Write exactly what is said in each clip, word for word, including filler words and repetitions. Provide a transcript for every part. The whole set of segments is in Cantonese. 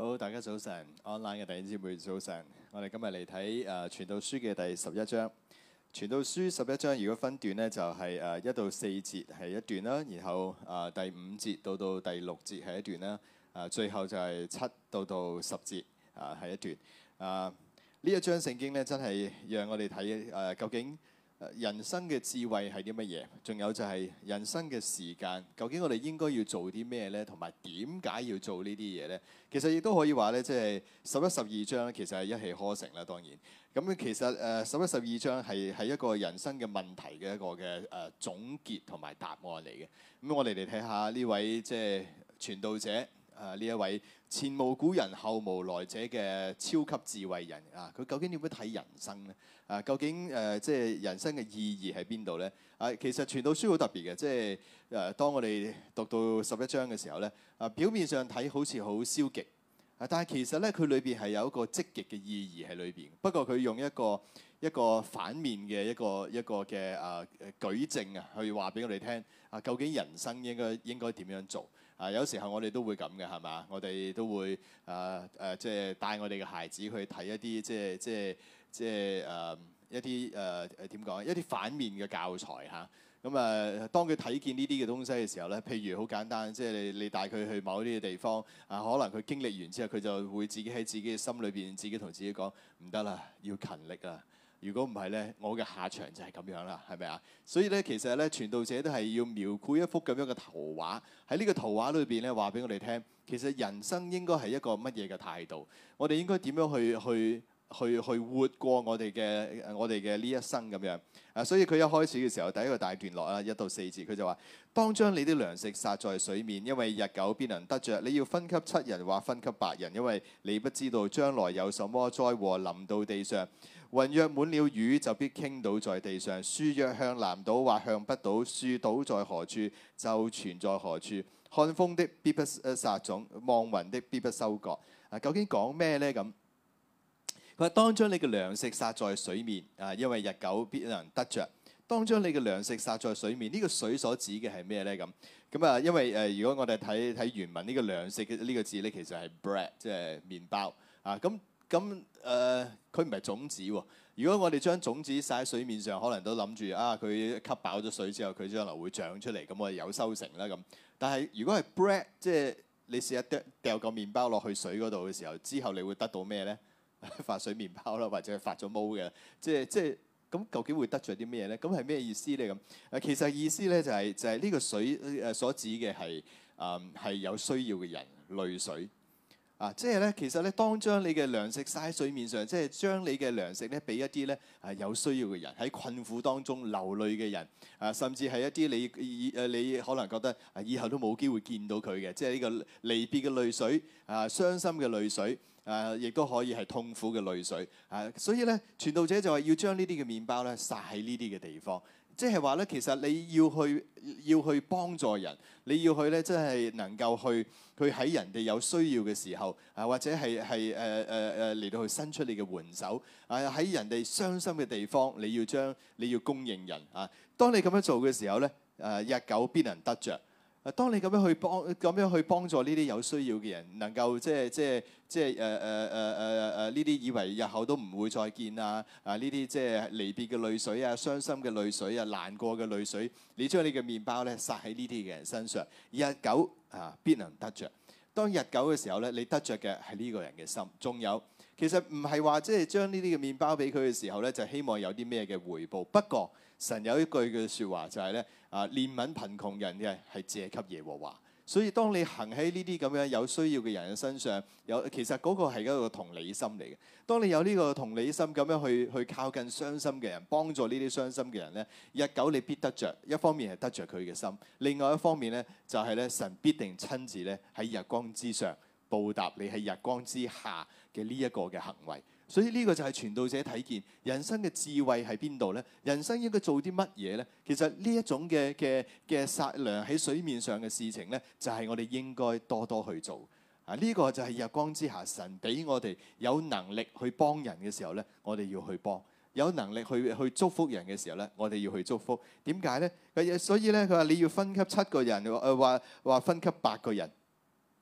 好，大家早晨，online 嘅弟兄姊妹早晨。我哋今日嚟睇誒《傳道書》嘅第十一章。《傳道書》十一章如果分段呢，就係誒一到四節係一段啦，然後誒第五節到到第六節係一段啦，誒最後就係七到到十節啊係一段。啊呢一章聖經咧真係讓我哋睇誒究竟人生嘅智慧係啲乜嘢？仲有就係人生嘅時間，究竟我哋應該要做啲咩咧？同埋點解要做呢啲嘢咧？其實亦都可以話咧，即係十一、十二章咧，其實係一氣呵成啦。當然，咁其實誒十一、十二章係係一個人生嘅問題嘅一個嘅誒總結同埋答案嚟嘅。咁我哋嚟睇下呢位即係傳道者啊，呢一位前無古人後無來者嘅超級智慧人啊，佢究竟點樣睇人生咧？啊，究竟誒、呃、即係人生嘅意義喺邊度咧？啊，其實傳道書好特別嘅，即係誒、呃、當我哋讀到十一章嘅時候咧，啊表面上睇好似好消極，啊但係其實咧佢裏邊係有一個積極嘅意義喺裏邊。不過佢用一個一個反面嘅一個一個嘅啊舉證啊，去話俾我哋聽啊，究竟人生應該應該點樣做？啊，有時候我哋都會咁嘅，係嘛？我哋都會啊誒，即係帶我哋嘅孩子去睇一啲即係即係即係誒一啲誒誒點講？一啲反面嘅教材嚇。咁啊，當佢睇見呢啲嘅東西嘅時候咧，譬如好簡單，即係你你帶佢去某啲嘅地方啊，可能佢經歷完之後，佢就會自己喺自己嘅心裏邊，自己同自己講唔得啦，要勤力啊！如果唔係咧，我嘅下場就係咁樣啦，係咪啊？所以咧，其實咧，傳道者都係要描繪一幅咁樣嘅圖畫。喺呢個圖畫裏邊咧，話俾我哋聽，其實人生應該係一個乜嘢嘅態度？我哋應該點樣去去去去活過我哋嘅我哋嘅呢一生咁樣啊？所以佢一開始嘅時候，第一個大段落啦，一到四節，佢就話：當將你啲糧食撒在水面，因為日久必能得着。你要分給七人或分給八人，因為你不知道將來有什麼災禍臨到地上。雲若滿了雨，就必傾倒在地上；樹若向南倒或向北倒，樹倒在何處，就存在何處。看風的必不撒種，望雲的必不收割。啊，究竟講咩咧？咁佢話：當將你嘅糧食撒在水面，啊，因為日久必能得着。當將你嘅糧食撒在水面，呢、這個水所指嘅係咩咧？咁咁啊，因為誒、呃，如果我哋睇睇原文呢、這個糧食嘅呢個字咧，其實係 bread，即係麵包啊。咁咁誒，佢唔係種子喎。如果我哋將種子撒喺水面上，可能都諗住啊，佢吸飽咗水之後，佢將來會長出嚟，咁我哋有收成啦咁。但係如果係 bread，即係你試下掉掉個麵包落去水嗰度嘅時候，之後你會得到咩咧？發水麵包啦，或者係發咗毛嘅，即係即係咁，究竟會得著啲咩咧？咁係咩意思咧？咁誒，其實意思咧就係、是、就係、是、呢個水誒所指嘅係誒係有需要嘅人，淚水。啊，即係咧，其實咧，當將你嘅糧食撒喺水面上，即係將你嘅糧食咧，俾一啲咧係有需要嘅人，喺困苦當中流淚嘅人，啊，甚至係一啲你以誒你可能覺得啊，以後都冇機會見到佢嘅，即係呢個離別嘅淚水，啊，傷心嘅淚水，啊，亦都可以係痛苦嘅淚水，啊，所以咧，傳道者就話要將呢啲嘅麵包咧撒喺呢啲嘅地方。即係話咧，其實你要去要去幫助人，你要去咧，即係能夠去去喺人哋有需要嘅時候，啊或者係係誒誒誒嚟到去伸出你嘅援手，啊喺人哋傷心嘅地方，你要將你要供應人啊。當你咁樣做嘅時候咧，誒日久必能得着。啊，當你咁樣去幫咁樣去幫助呢啲有需要嘅人，能夠即係即係即係誒誒誒誒誒誒呢啲以為日後都唔會再見啊啊呢啲即係離別嘅淚水啊、傷心嘅淚水啊、難過嘅淚水，你將你嘅麵包咧撒喺呢啲嘅人身上，日久啊必能得着。當日久嘅時候咧，你得着嘅係呢個人嘅心。仲有，其實唔係話即係將呢啲嘅麵包俾佢嘅時候咧，就希望有啲咩嘅回報。不過神有一句嘅説話就係咧。啊，憐憫貧窮人嘅係借給耶和華，所以當你行喺呢啲咁樣有需要嘅人嘅身上，有其實嗰個係一個同理心嚟嘅。當你有呢個同理心咁樣去去靠近傷心嘅人，幫助呢啲傷心嘅人咧，日久你必得着。一方面係得着佢嘅心，另外一方面咧就係咧神必定親自咧喺日光之上報答你喺日光之下嘅呢一個嘅行為。所以呢個就係傳道者睇見人生嘅智慧喺邊度咧？人生應該做啲乜嘢咧？其實呢一種嘅嘅嘅撒糧喺水面上嘅事情咧，就係我哋應該多多去做。啊，呢個就係日光之下神俾我哋有能力去幫人嘅時候咧，我哋要去幫；有能力去去祝福人嘅時候咧，我哋要去祝福。點解咧？所以咧，佢話你要分給七個人，誒話話分給八個人。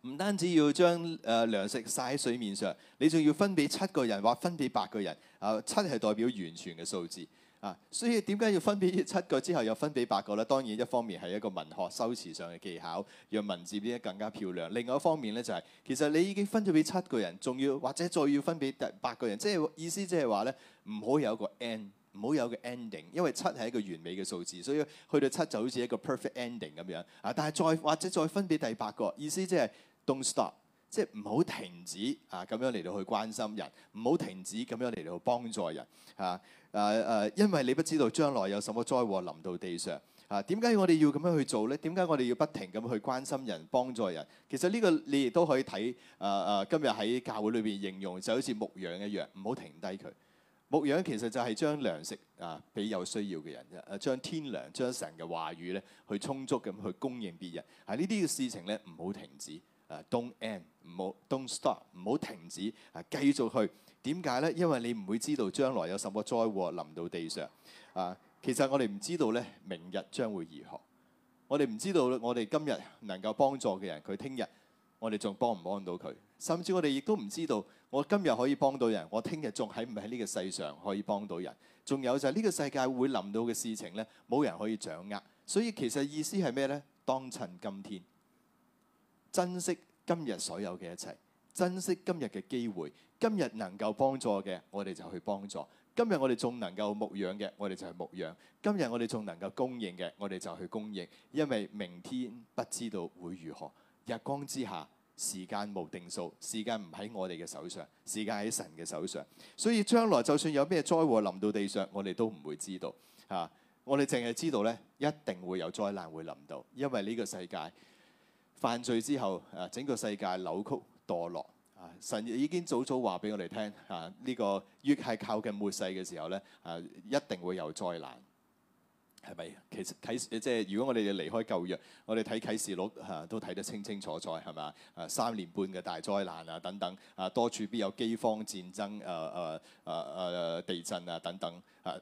唔單止要將誒糧食撒喺水面上，你仲要分俾七個人或分俾八個人。啊，七係代表完全嘅數字。啊，所以點解要分俾七個之後又分俾八個咧？當然一方面係一個文學修辭上嘅技巧，讓文字變得更加漂亮。另外一方面咧就係、是，其實你已經分咗俾七個人，仲要或者再要分俾第八個人，即係意思即係話咧，唔好有一個 end， 唔好有個 ending， 因為七係一個完美嘅數字，所以去到七就好似一個 perfect ending 咁樣。啊，但係再或者再分俾第八個，意思即係 don't stop。即係唔好停止啊，咁樣嚟到去關心人，唔好停止咁樣嚟到去幫助人啊！誒、啊、誒、啊，因為你不知道將來有什麼災禍臨到地上啊！點解我哋要咁樣去做咧？點解我哋要不停咁去關心人、幫助人？其實呢個你亦都可以睇誒誒，今日喺教會裏邊形容就好似牧羊一樣，唔好停低佢。牧羊其實就係將糧食啊俾有需要嘅人，誒將天糧、將神嘅話語咧去充足咁去供應別人。啊，呢啲嘅事情咧唔好停止。Uh, don't end， 唔好 don't stop， 唔好停止，啊，繼續去。點解咧？因為你唔會知道將來有什麼災禍臨到地上。啊，其實我哋唔知道咧，明日將會如何。我哋唔知道我哋今日能夠幫助嘅人，佢聽日我哋仲幫唔幫到佢？甚至我哋亦都唔知道，我今日可以幫到人，我聽日仲喺唔喺呢個世上可以幫到人？仲有就係呢個世界會臨到嘅事情咧，冇人可以掌握。所以其實意思係咩咧？當趁今天。珍惜今日所有嘅一切，珍惜今日嘅機會。今日能夠幫助嘅，我哋就去幫助；今日我哋仲能夠牧養嘅，我哋就去牧養；今日我哋仲能夠供應嘅，我哋就去供應。因為明天不知道會如何，日光之下，時間無定數，時間唔喺我哋嘅手上，時間喺神嘅手上。所以將來就算有咩災禍臨到地上，我哋都唔會知道。啊，我哋淨係知道咧，一定會有災難會臨到，因為呢個世界。犯罪之後，誒整個世界扭曲墮落，啊！神已經早早話俾我哋聽，啊呢、這個越係靠近末世嘅時候咧，啊一定會有災難，係咪？其實啟即係如果我哋離開舊約，我哋睇啟示錄嚇、啊、都睇得清清楚楚，係嘛？啊三年半嘅大災難啊等等，啊多處必有饑荒、戰爭、誒誒誒誒地震啊等等啊。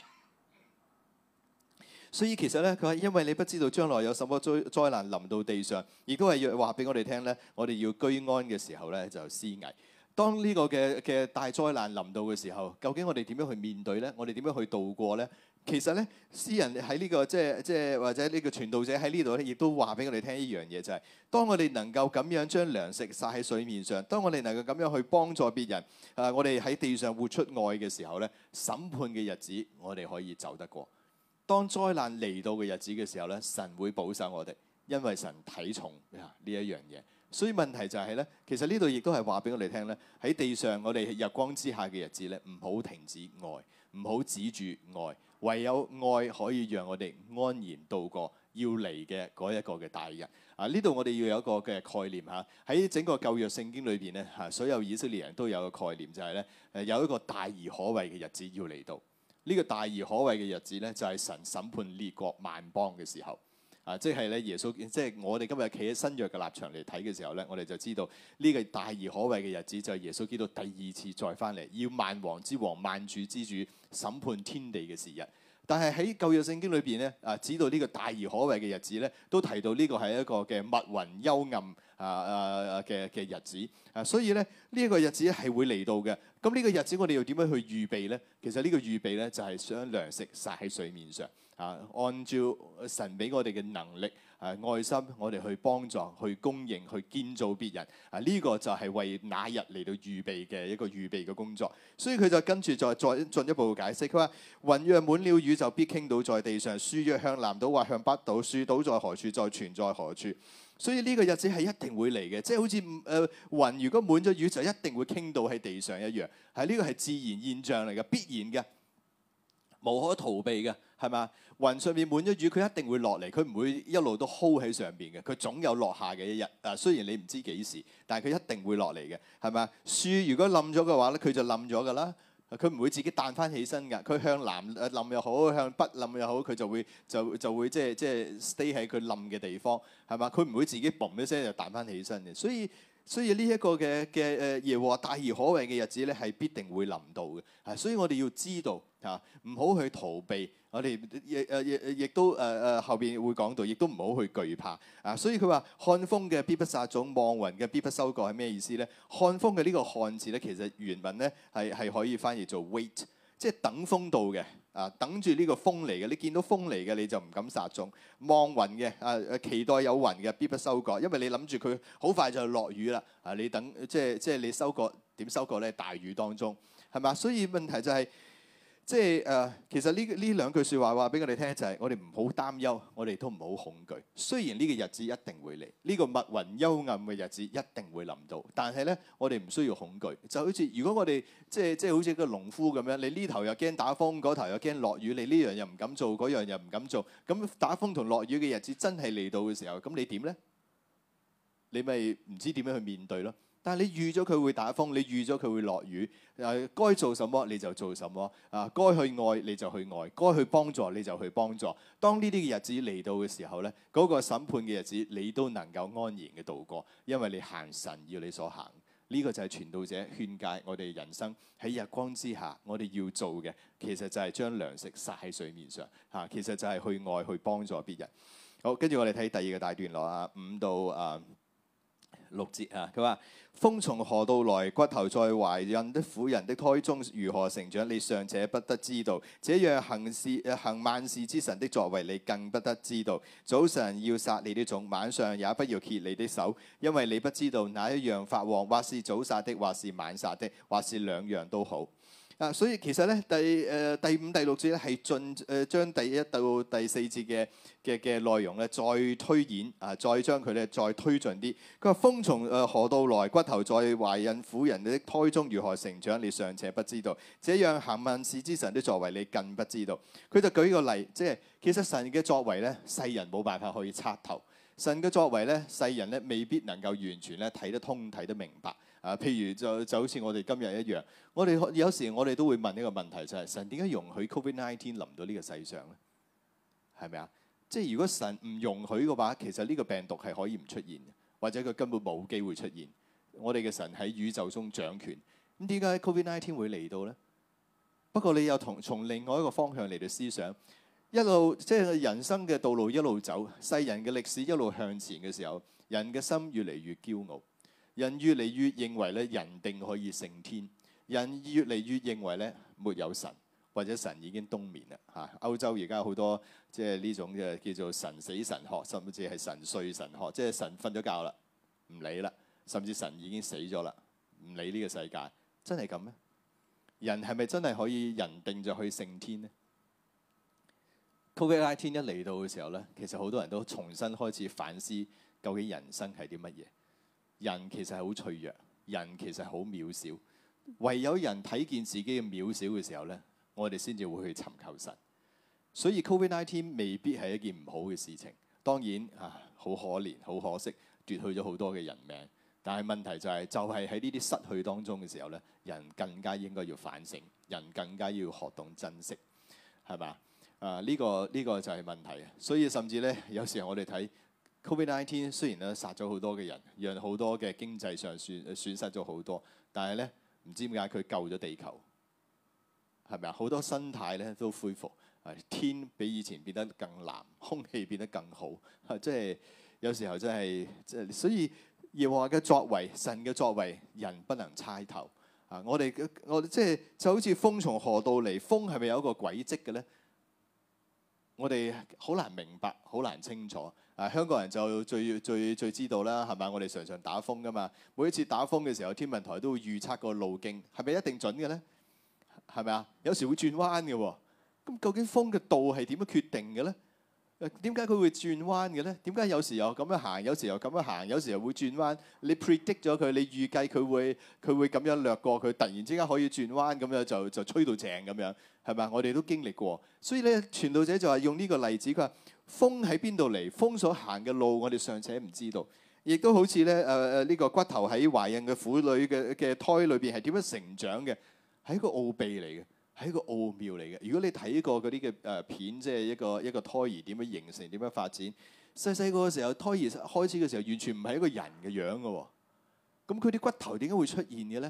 所以其實咧，佢話因為你不知道將來有什麼災災難臨到地上，亦都係要話俾我哋聽咧。我哋要居安嘅時候咧，就思危。當呢個嘅嘅大災難臨到嘅時候，究竟我哋點樣去面對咧？我哋點樣去度過咧？其實咧，詩人喺呢個即係即係或者呢個傳道者喺呢度咧，亦都話俾我哋聽一樣嘢，就係當我哋能夠咁樣將糧食撒喺水面上，當我哋能夠咁樣去幫助別人，啊，我哋喺地上活出愛嘅時候咧，審判嘅日子我哋可以走得過。當災難嚟到嘅日子嘅時候咧，神會保守我哋，因為神睇重呢一樣嘢。所以問題就係咧，其實呢度亦都係話俾我哋聽咧，喺地上我哋日光之下嘅日子咧，唔好停止愛，唔好止住愛，唯有愛可以讓我哋安然度過要嚟嘅嗰一個嘅大日。啊，呢度我哋要有一個嘅概念嚇，喺整個舊約聖經裏邊咧嚇，所有以色列人都有個概念，就係咧誒有一個大而可畏嘅日子要嚟到。呢個大而可畏嘅日子咧，就係神審判列國萬邦嘅時候，啊，即係咧耶穌，即係我哋今日企喺新約嘅立場嚟睇嘅時候咧，我哋就知道呢個大而可畏嘅日子就係耶穌基督第二次再翻嚟，要萬王之王、萬主之主審判天地嘅時日。但係喺舊約聖經裏邊咧，啊，指到呢個大而可畏嘅日子咧，都提到呢個係一個嘅密雲幽暗啊啊嘅嘅日子啊，所以咧呢一個日子係會嚟到嘅。咁呢個日子我哋要點樣去預備咧？其實呢個預備咧就係將糧食撒喺水面上啊，按照神俾我哋嘅能力啊愛心，我哋去幫助、去供應、去建造別人啊，呢個就係為那日嚟到預備嘅一個預備嘅工作。所以佢就跟住再再進一步解釋，佢話雲若滿了雨就必傾倒在地上，樹若向南倒或向北倒，樹倒在何處就存在何處。所以呢個日子係一定會嚟嘅，即係好似誒雲如果滿咗雨就一定會傾倒喺地上一樣，係呢個係自然現象嚟嘅，必然嘅，無可逃避嘅，係嘛？雲上面滿咗雨，佢一定會落嚟，佢唔會一路都 hold 喺上邊嘅，佢總有落下嘅一日。啊，雖然你唔知幾時，但係佢一定會落嚟嘅，係嘛？樹如果冧咗嘅話咧，佢就冧咗㗎啦。佢唔會自己彈翻起身㗎，佢向南冧又好，向北冧又好，佢就會就就會即係即係 stay 喺佢冧嘅地方，係嘛？佢唔會自己嘣一聲就彈翻起身嘅。所以所以呢一個嘅嘅誒耶和華大而可畏嘅日子咧，係必定會臨到嘅。啊，所以我哋要知道嚇，唔好去逃避。我哋亦誒亦亦都誒誒、呃、後邊會講到，亦都唔好去懼怕啊。所以佢話看風嘅必不撒種，望雲嘅必不收割係咩意思咧？看風嘅呢個看字咧，其實原文咧係係可以翻譯做 wait，即係等風到嘅啊，等住呢個風嚟嘅。你見到風嚟嘅你就唔敢撒種。望雲嘅啊誒，期待有雲嘅必不收割，因為你諗住佢好快就落雨啦啊！你等即係即係你收割點收割咧？大雨當中係嘛？所以問題就係、是。即係誒、呃，其實呢呢兩句説話話俾我哋聽就係、是，我哋唔好擔憂，我哋都唔好恐懼。雖然呢個日子一定會嚟，呢、這個密雲幽暗嘅日子一定會臨到，但係咧，我哋唔需要恐懼。就好似如果我哋即係即係好似個農夫咁樣，你呢頭又驚打風，嗰頭又驚落雨，你呢樣又唔敢做，嗰樣又唔敢做。咁打風同落雨嘅日子真係嚟到嘅時候，咁你點咧？你咪唔知點樣去面對咯。但係你預咗佢會打風，你預咗佢會落雨，誒該做什麼你就做什麼，啊該去愛你就去愛，該去幫助你就去幫助。當呢啲嘅日子嚟到嘅時候咧，嗰個審判嘅日子你都能夠安然嘅度過，因為你行神要你所行。呢個就係傳道者勸誡我哋人生喺日光之下，我哋要做嘅其實就係將糧食撒喺水面上，嚇，其實就係去愛去幫助別人。好，跟住我哋睇第二個大段落啊，五到啊六節啊，佢話：風從何度來，骨頭在懷孕的婦人的胎中如何成長，你尚且不得知道。這樣行事行萬事之神的作為，你更不得知道。早晨要撒你的種，晚上也不要歇你的手，因為你不知道哪一樣發旺，或是早撒的，或是晚撒的，或是兩樣都好。啊，所以其實咧，第誒、呃、第五、第六節咧係進誒將第一到第四節嘅嘅嘅內容咧再推演啊，再將佢咧再推進啲。佢話：風從誒何度來，骨頭在懷孕婦人的胎中如何成長，你尚且不知道。這樣行萬事之神的作為，你更不知道。佢就舉個例，即係其實神嘅作為咧，世人冇辦法可以測透。神嘅作為咧，世人咧未必能夠完全咧睇得通、睇得明白。啊，譬如就就好似我哋今日一樣，我哋有時我哋都會問一個問題，就係、是、神點解容許 Covid 十九 臨到呢個世上咧？係咪啊？即係如果神唔容許嘅話，其實呢個病毒係可以唔出現，或者佢根本冇機會出現。我哋嘅神喺宇宙中掌權，咁點解 Covid 十九 會嚟到咧？不過你又同從另外一個方向嚟到思想，一路即係、就是、人生嘅道路一路走，世人嘅歷史一路向前嘅時候，人嘅心越嚟越驕傲。人越嚟越認為咧，人定可以勝天，人越嚟越認為咧，沒有神，或者神已經冬眠啦嚇。歐洲而家好多即係呢種嘅叫做神死神學，甚至係神睡神學，即係神瞓咗覺啦，唔理啦，甚至神已經死咗啦，唔理呢個世界，真係咁咩？人係咪真係可以人定就去勝天呢？ Covid 十九 一嚟到嘅時候咧，其實好多人都重新開始反思，究竟人生係啲乜嘢？人其實係好脆弱，人其實好渺小。唯有人睇見自己嘅渺小嘅時候咧，我哋先至會去尋求神。所以 Covid 十九 未必係一件唔好嘅事情。當然啊，好可憐，好可惜，奪去咗好多嘅人命。但係問題就係、是，就係喺呢啲失去當中嘅時候咧，人更加應該要反省，人更加要學懂珍惜，係咪啊？呢、這個呢、這個就係問題。所以甚至咧，有時候我哋睇。Covid 十九 雖然咧殺咗好多嘅人，讓好多嘅經濟上損損失咗好多，但係咧唔知點解佢救咗地球，係咪啊？好多生態咧都恢復，天比以前變得更藍，空氣變得更好，即係有時候真係即係，所以耶和華嘅作為，神嘅作為，人不能猜透啊！我哋我哋即係就好似風從何度嚟，風係咪有一個軌跡嘅咧？我哋好難明白，好難清楚。啊，香港人就最最最知道啦，係咪？我哋常常打風噶嘛，每一次打風嘅時候，天文台都會預測個路徑，係咪一定準嘅咧？係咪啊？有時會轉彎嘅喎。咁究竟風嘅度係點樣決定嘅咧？點解佢會轉彎嘅咧？點解有時又咁樣行，有時又咁樣行，有時又會轉彎？你 predict 咗佢，你預計佢會佢會咁樣掠過，佢突然之間可以轉彎，咁樣就就吹到正咁樣，係咪？我哋都經歷過，所以咧，傳道者就係用呢個例子，佢話風喺邊度嚟？風所行嘅路，我哋尚且唔知道，亦都好似咧誒誒呢個骨頭喺懷孕嘅婦女嘅嘅胎裏邊係點樣成長嘅，係一個奧秘嚟嘅。係一個奧妙嚟嘅。如果你睇過嗰啲嘅誒片，即係一個一個胎兒點樣形成、點樣發展，細細個嘅時候，胎兒開始嘅時候，完全唔係一個人嘅樣嘅喎。咁佢啲骨頭點解會出現嘅咧？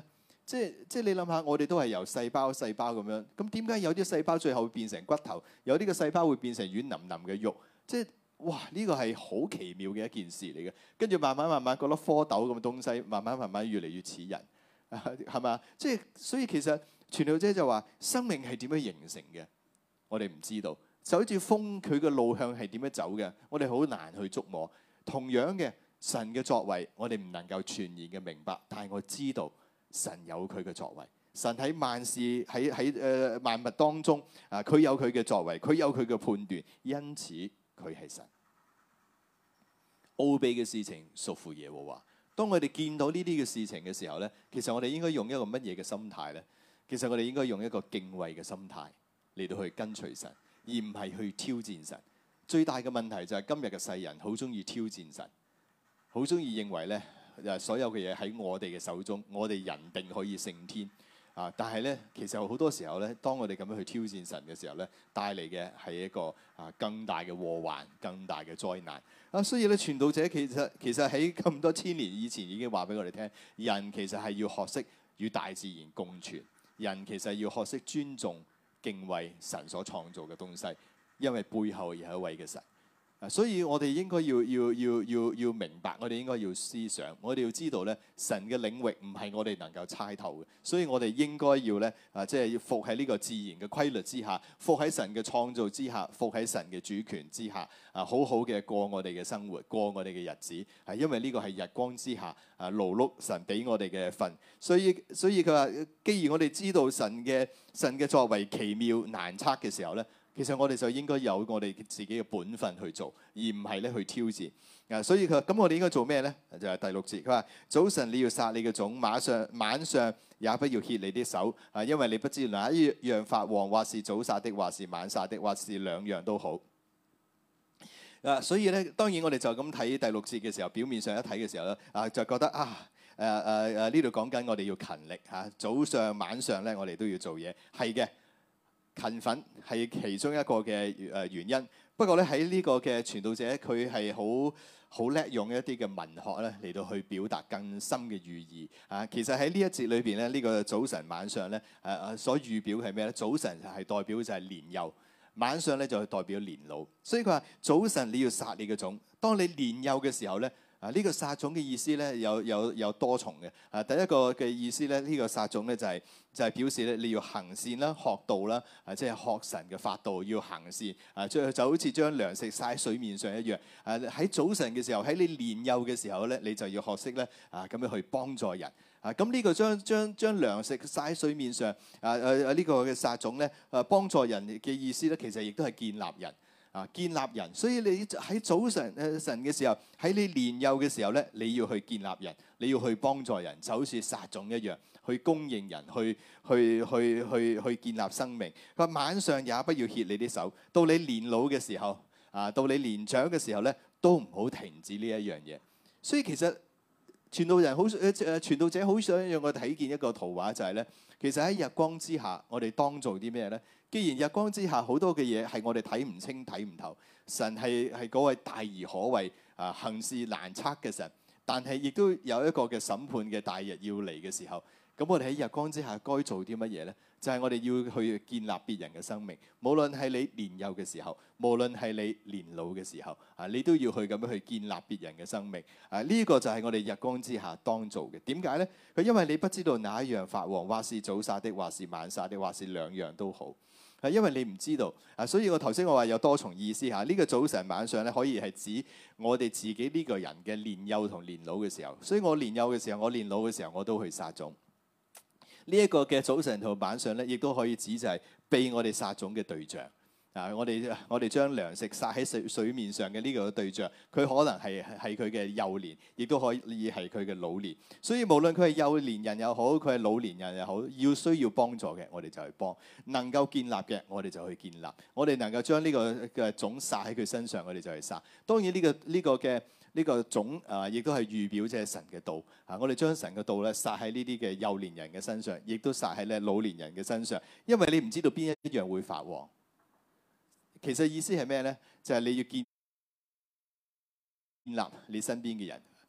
即係即係你諗下，我哋都係由細胞細胞咁樣，咁點解有啲細胞最後會變成骨頭，有啲嘅細胞會變成軟腍腍嘅肉？即係哇！呢個係好奇妙嘅一件事嚟嘅。跟住慢慢慢慢嗰粒蝌蚪咁嘅東西，慢慢慢慢越嚟越似人，係嘛？即係所以其實傳道者就話生命係點樣形成嘅，我哋唔知道。就好似風，佢嘅路向係點樣走嘅，我哋好難去捉摸。同樣嘅神嘅作為，我哋唔能夠全然嘅明白，但係我知道神有佢嘅作為。神喺萬事喺喺誒萬物當中啊，佢有佢嘅作為，佢有佢嘅判斷，因此佢係神。奧秘嘅事情屬乎耶和華。當我哋見到呢啲嘅事情嘅時候咧，其實我哋應該用一個乜嘢嘅心態咧？其實我哋應該用一個敬畏嘅心態嚟到去跟隨神，而唔係去挑戰神。最大嘅問題就係今日嘅世人好中意挑戰神，好中意認為咧誒所有嘅嘢喺我哋嘅手中，我哋人定可以勝天啊！但係咧，其實好多時候咧，當我哋咁樣去挑戰神嘅時候咧，帶嚟嘅係一個啊更大嘅禍患、更大嘅災難啊！所以咧，傳道者其實其實喺咁多千年以前已經話俾我哋聽，人其實係要學識與大自然共存，人其實要學識尊重、敬畏神所創造嘅東西。因為背後有一位嘅神，所以我哋應該要要要要要明白，我哋應該要思想，我哋要知道咧，神嘅領域唔係我哋能夠猜透嘅，所以我哋應該要咧啊，即係要服喺呢個自然嘅規律之下，服喺神嘅創造之下，服喺神嘅主權之下，啊，好好嘅過我哋嘅生活，過我哋嘅日子，係因為呢個係日光之下啊勞碌神俾我哋嘅份，所以所以佢話，既然我哋知道神嘅神嘅作為奇妙難測嘅時候咧。其實我哋就應該有我哋自己嘅本分去做，而唔係咧去挑戰。啊，所以佢話：咁我哋應該做咩咧？就係、是、第六節，佢話：早晨你要殺你嘅種，馬上晚上也不要歇你啲手，啊，因為你不知哪一樣發旺，或是早殺的，或是晚殺的，或是兩樣都好。啊，所以咧，當然我哋就咁睇第六節嘅時候，表面上一睇嘅時候咧，啊，就覺得啊，誒誒誒呢度講緊我哋要勤力嚇、啊，早上晚上咧我哋都要做嘢，係嘅。勤奮係其中一個嘅誒原因，不過咧喺呢個嘅傳道者，佢係好好叻用一啲嘅文學咧嚟到去表達更深嘅寓意啊！其實喺呢一節裏邊咧，呢、這個早晨晚上咧誒誒所預表係咩咧？早晨係代表就係年幼，晚上咧就係代表年老。所以佢話早晨你要殺你嘅種，當你年幼嘅時候咧。啊！呢、這個撒種嘅意思咧，有有有多重嘅。啊，第一個嘅意思咧，呢、這個撒種咧就係、是、就係、是、表示咧你要行善啦、學道啦，啊，即係學神嘅法度，要行善。啊，就就好似將糧食撒喺水面上一樣。啊，喺早晨嘅時候，喺你年幼嘅時候咧，你就要學識咧啊，咁樣去幫助人。啊，咁呢個將將將糧食撒喺水面上，啊啊啊！呢個嘅撒種咧，啊幫助人嘅意思咧，其實亦都係建立人。啊！建立人，所以你喺早晨誒晨嘅時候，喺你年幼嘅時候咧，你要去建立人，你要去幫助人，就好似撒種一樣，去供應人，去去去去去建立生命。佢話晚上也不要歇你啲手，到你年老嘅時候，啊，到你年長嘅時候咧，都唔好停止呢一樣嘢。所以其實傳道人好誒誒，傳道者好想讓我睇見一個圖畫，就係咧，其實喺日光之下，我哋當做啲咩咧？既然日光之下好多嘅嘢係我哋睇唔清睇唔透，神係係嗰位大而可畏啊，行事難測嘅神，但係亦都有一個嘅審判嘅大日要嚟嘅時候，咁我哋喺日光之下該做啲乜嘢咧？就係、是、我哋要去建立別人嘅生命，無論係你年幼嘅時候，無論係你年老嘅時候，啊，你都要去咁樣去建立別人嘅生命。啊，呢、這個就係我哋日光之下當做嘅。點解咧？佢因為你不知道哪一樣發旺，或是早撒的，或是晚撒的，或是兩樣都好。係因為你唔知道啊，所以我頭先我話有多重意思嚇。呢、這個早晨晚上咧，可以係指我哋自己呢個人嘅年幼同年老嘅時候。所以我年幼嘅時候，我年老嘅時候，我都去撒種。呢、這、一個嘅早晨同晚上咧，亦都可以指就係被我哋撒種嘅對象。啊！我哋我哋將糧食撒喺水水面上嘅呢個對象，佢可能係係佢嘅幼年，亦都可以係佢嘅老年。所以無論佢係幼年人又好，佢係老年人又好，要需要幫助嘅，我哋就去幫；能夠建立嘅，我哋就去建立。我哋能夠將呢個嘅種撒喺佢身上，我哋就去撒。當然呢個呢個嘅呢個種啊，亦都係預表即係神嘅道啊！我哋將神嘅道咧撒喺呢啲嘅幼年人嘅身上，亦都撒喺咧老年人嘅身上，因為你唔知道邊一樣會發旺。其實意思係咩咧？就係、是、你要建立你身邊嘅人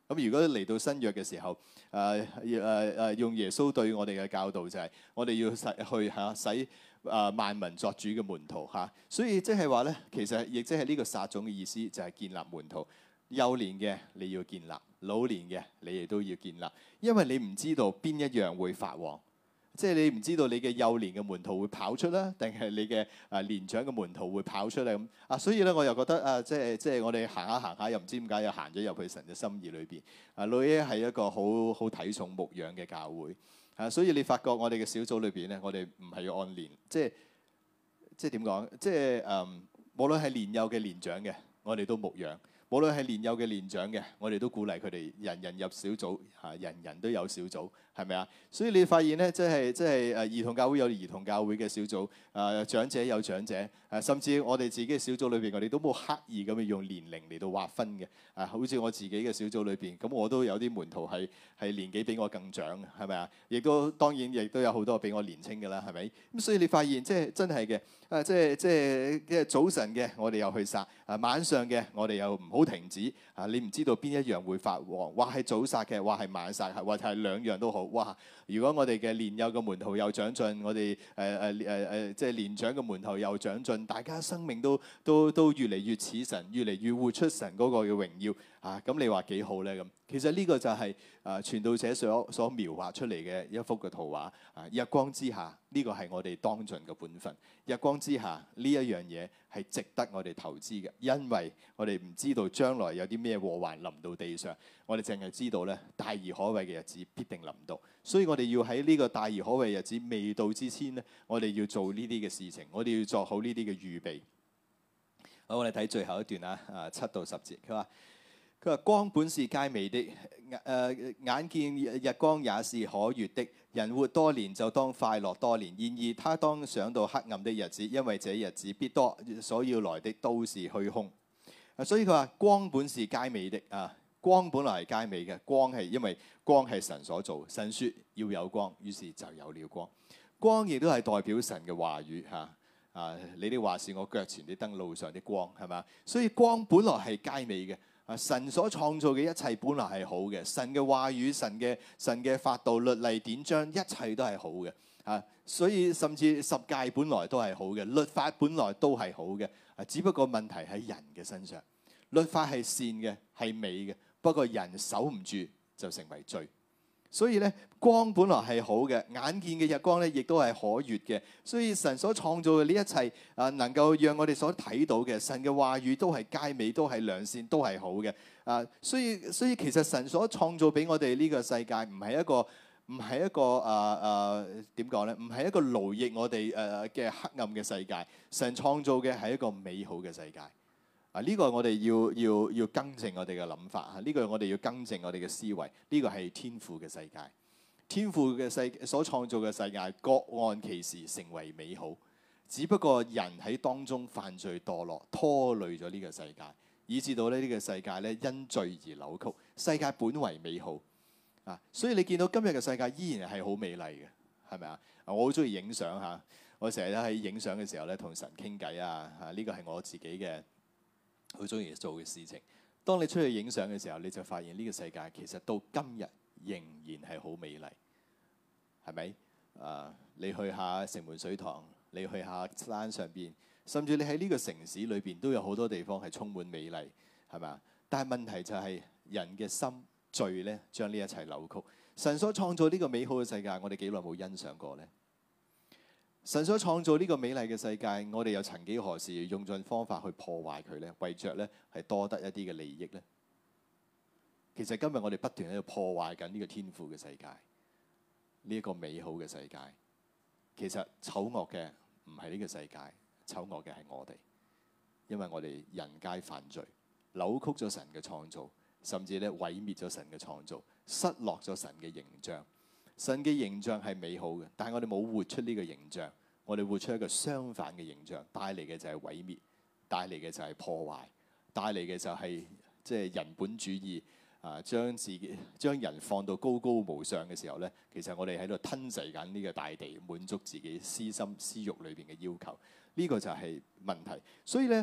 咁如果嚟到新約嘅時候，誒誒誒用耶穌對我哋嘅教導就係、是，我哋要使去嚇使誒萬民作主嘅門徒嚇、啊。所以即係話咧，其實亦即係呢個撒種嘅意思，就係建立門徒。幼年嘅你要建立，老年嘅你亦都要建立，因為你唔知道邊一樣會發旺。即係你唔知道你嘅幼年嘅門徒會跑出啦，定係你嘅啊年長嘅門徒會跑出嚟咁啊？所以咧，我又覺得啊，即係即係我哋行下行下，又唔知點解又行咗入去神嘅心意裏邊。啊，女咧係一個好好睇重牧養嘅教會啊，所以你發覺我哋嘅小組裏邊咧，我哋唔係要按年，即係即係點講？即係嗯，無論係年幼嘅年長嘅，我哋都牧養。無論係年幼嘅年長嘅，我哋都鼓勵佢哋人人入小組嚇，人人都有小組，係咪啊？所以你發現咧，即係即係誒兒童教會有兒童教會嘅小組，誒、呃、長者有長者，誒、呃、甚至我哋自己嘅小組裏邊，我哋都冇刻意咁樣用年齡嚟到劃分嘅。啊，好似我自己嘅小組裏邊，咁我都有啲門徒係係年紀比我更長，係咪啊？亦都當然亦都有好多比我年輕嘅啦，係咪？咁所以你發現即係真係嘅，啊即係即係嘅早晨嘅我哋又去殺，啊晚上嘅我哋又唔好停止，啊你唔知道邊一樣會發旺，話係早殺嘅，話係晚殺，或者係兩樣都好。哇！如果我哋嘅年幼嘅門徒又長進，我哋誒誒誒誒即係年長嘅門徒又長進，大家生命都都都越嚟越似神，越嚟越活出神嗰個嘅榮耀啊！咁你話幾好咧？咁其實呢個就係誒傳道者所所描畫出嚟嘅一幅嘅圖畫啊！日光之下，呢個係我哋當盡嘅本分。日光之下呢一樣嘢係值得我哋投資嘅，因為我哋唔知道將來有啲咩禍患臨到地上，我哋淨係知道咧大而可畏嘅日子必定臨到，所以我哋要喺呢個大而可畏日子未到之前咧，我哋要做呢啲嘅事情，我哋要做好呢啲嘅預備。好，我哋睇最後一段啊，啊七到十節，佢話佢話光本是佳美的，誒、呃、眼見日光也是可悅的。人活多年就當快樂多年，然而他當想到黑暗的日子，因為這日子必多，所要來的都是虛空。啊，所以佢話光本是佳美的啊，光本來係佳美嘅，光係因為光係神所做，神說要有光，於是就有了光。光亦都係代表神嘅話語嚇啊！你的話是我腳前的燈，路上的光，係嘛？所以光本來係佳美嘅。神所創造嘅一切本來係好嘅，神嘅話語、神嘅神嘅法度、律例典章，一切都係好嘅啊！所以甚至十誡本來都係好嘅，律法本來都係好嘅啊！只不過問題喺人嘅身上，律法係善嘅，係美嘅，不過人守唔住就成為罪。所以咧，光本來係好嘅，眼見嘅日光咧，亦都係可悅嘅。所以神所創造嘅呢一切啊，能夠讓我哋所睇到嘅神嘅話語都係佳美，都係良善，都係好嘅啊。所以所以其實神所創造俾我哋呢個世界，唔係一個唔係一個啊啊點講咧？唔係一個勞役我哋誒嘅黑暗嘅世界。神創造嘅係一個美好嘅世界。啊！呢個我哋要要要更正我哋嘅諗法嚇，呢個我哋要更正我哋嘅思維。呢個係天父嘅世界，天父嘅世所創造嘅世界，各按其時成為美好。只不過人喺當中犯罪墮落，拖累咗呢個世界，以至到咧呢個世界咧因罪而扭曲。世界本為美好啊，所以你見到今日嘅世界依然係好美麗嘅，係咪啊？我好中意影相嚇，我成日喺影相嘅時候咧同神傾偈啊嚇，呢個係我自己嘅好中意做嘅事情。當你出去影相嘅時候，你就發現呢個世界其實到今日仍然係好美麗，係咪？啊，你去下城門水塘，你去下山上邊，甚至你喺呢個城市裏邊都有好多地方係充滿美麗，係咪啊？但係問題就係人嘅心罪咧，將呢一切扭曲。神所創造呢個美好嘅世界，我哋幾耐冇欣賞過呢？神所創造呢個美麗嘅世界，我哋又曾幾何時用盡方法去破壞佢呢？為着咧係多得一啲嘅利益呢？其實今日我哋不斷喺度破壞緊呢個天父嘅世界，呢一個美好嘅世界。其實醜惡嘅唔係呢個世界，醜惡嘅係我哋，因為我哋人皆犯罪，扭曲咗神嘅創造，甚至咧毀滅咗神嘅創造，失落咗神嘅形象。神嘅形象係美好嘅，但係我哋冇活出呢個形象，我哋活出一個相反嘅形象，帶嚟嘅就係毀滅，帶嚟嘅就係破壞，帶嚟嘅就係即係人本主義啊！將自己將人放到高高無上嘅時候咧，其實我哋喺度吞噬緊呢個大地，滿足自己私心私慾裏邊嘅要求，呢、這個就係問題。所以咧，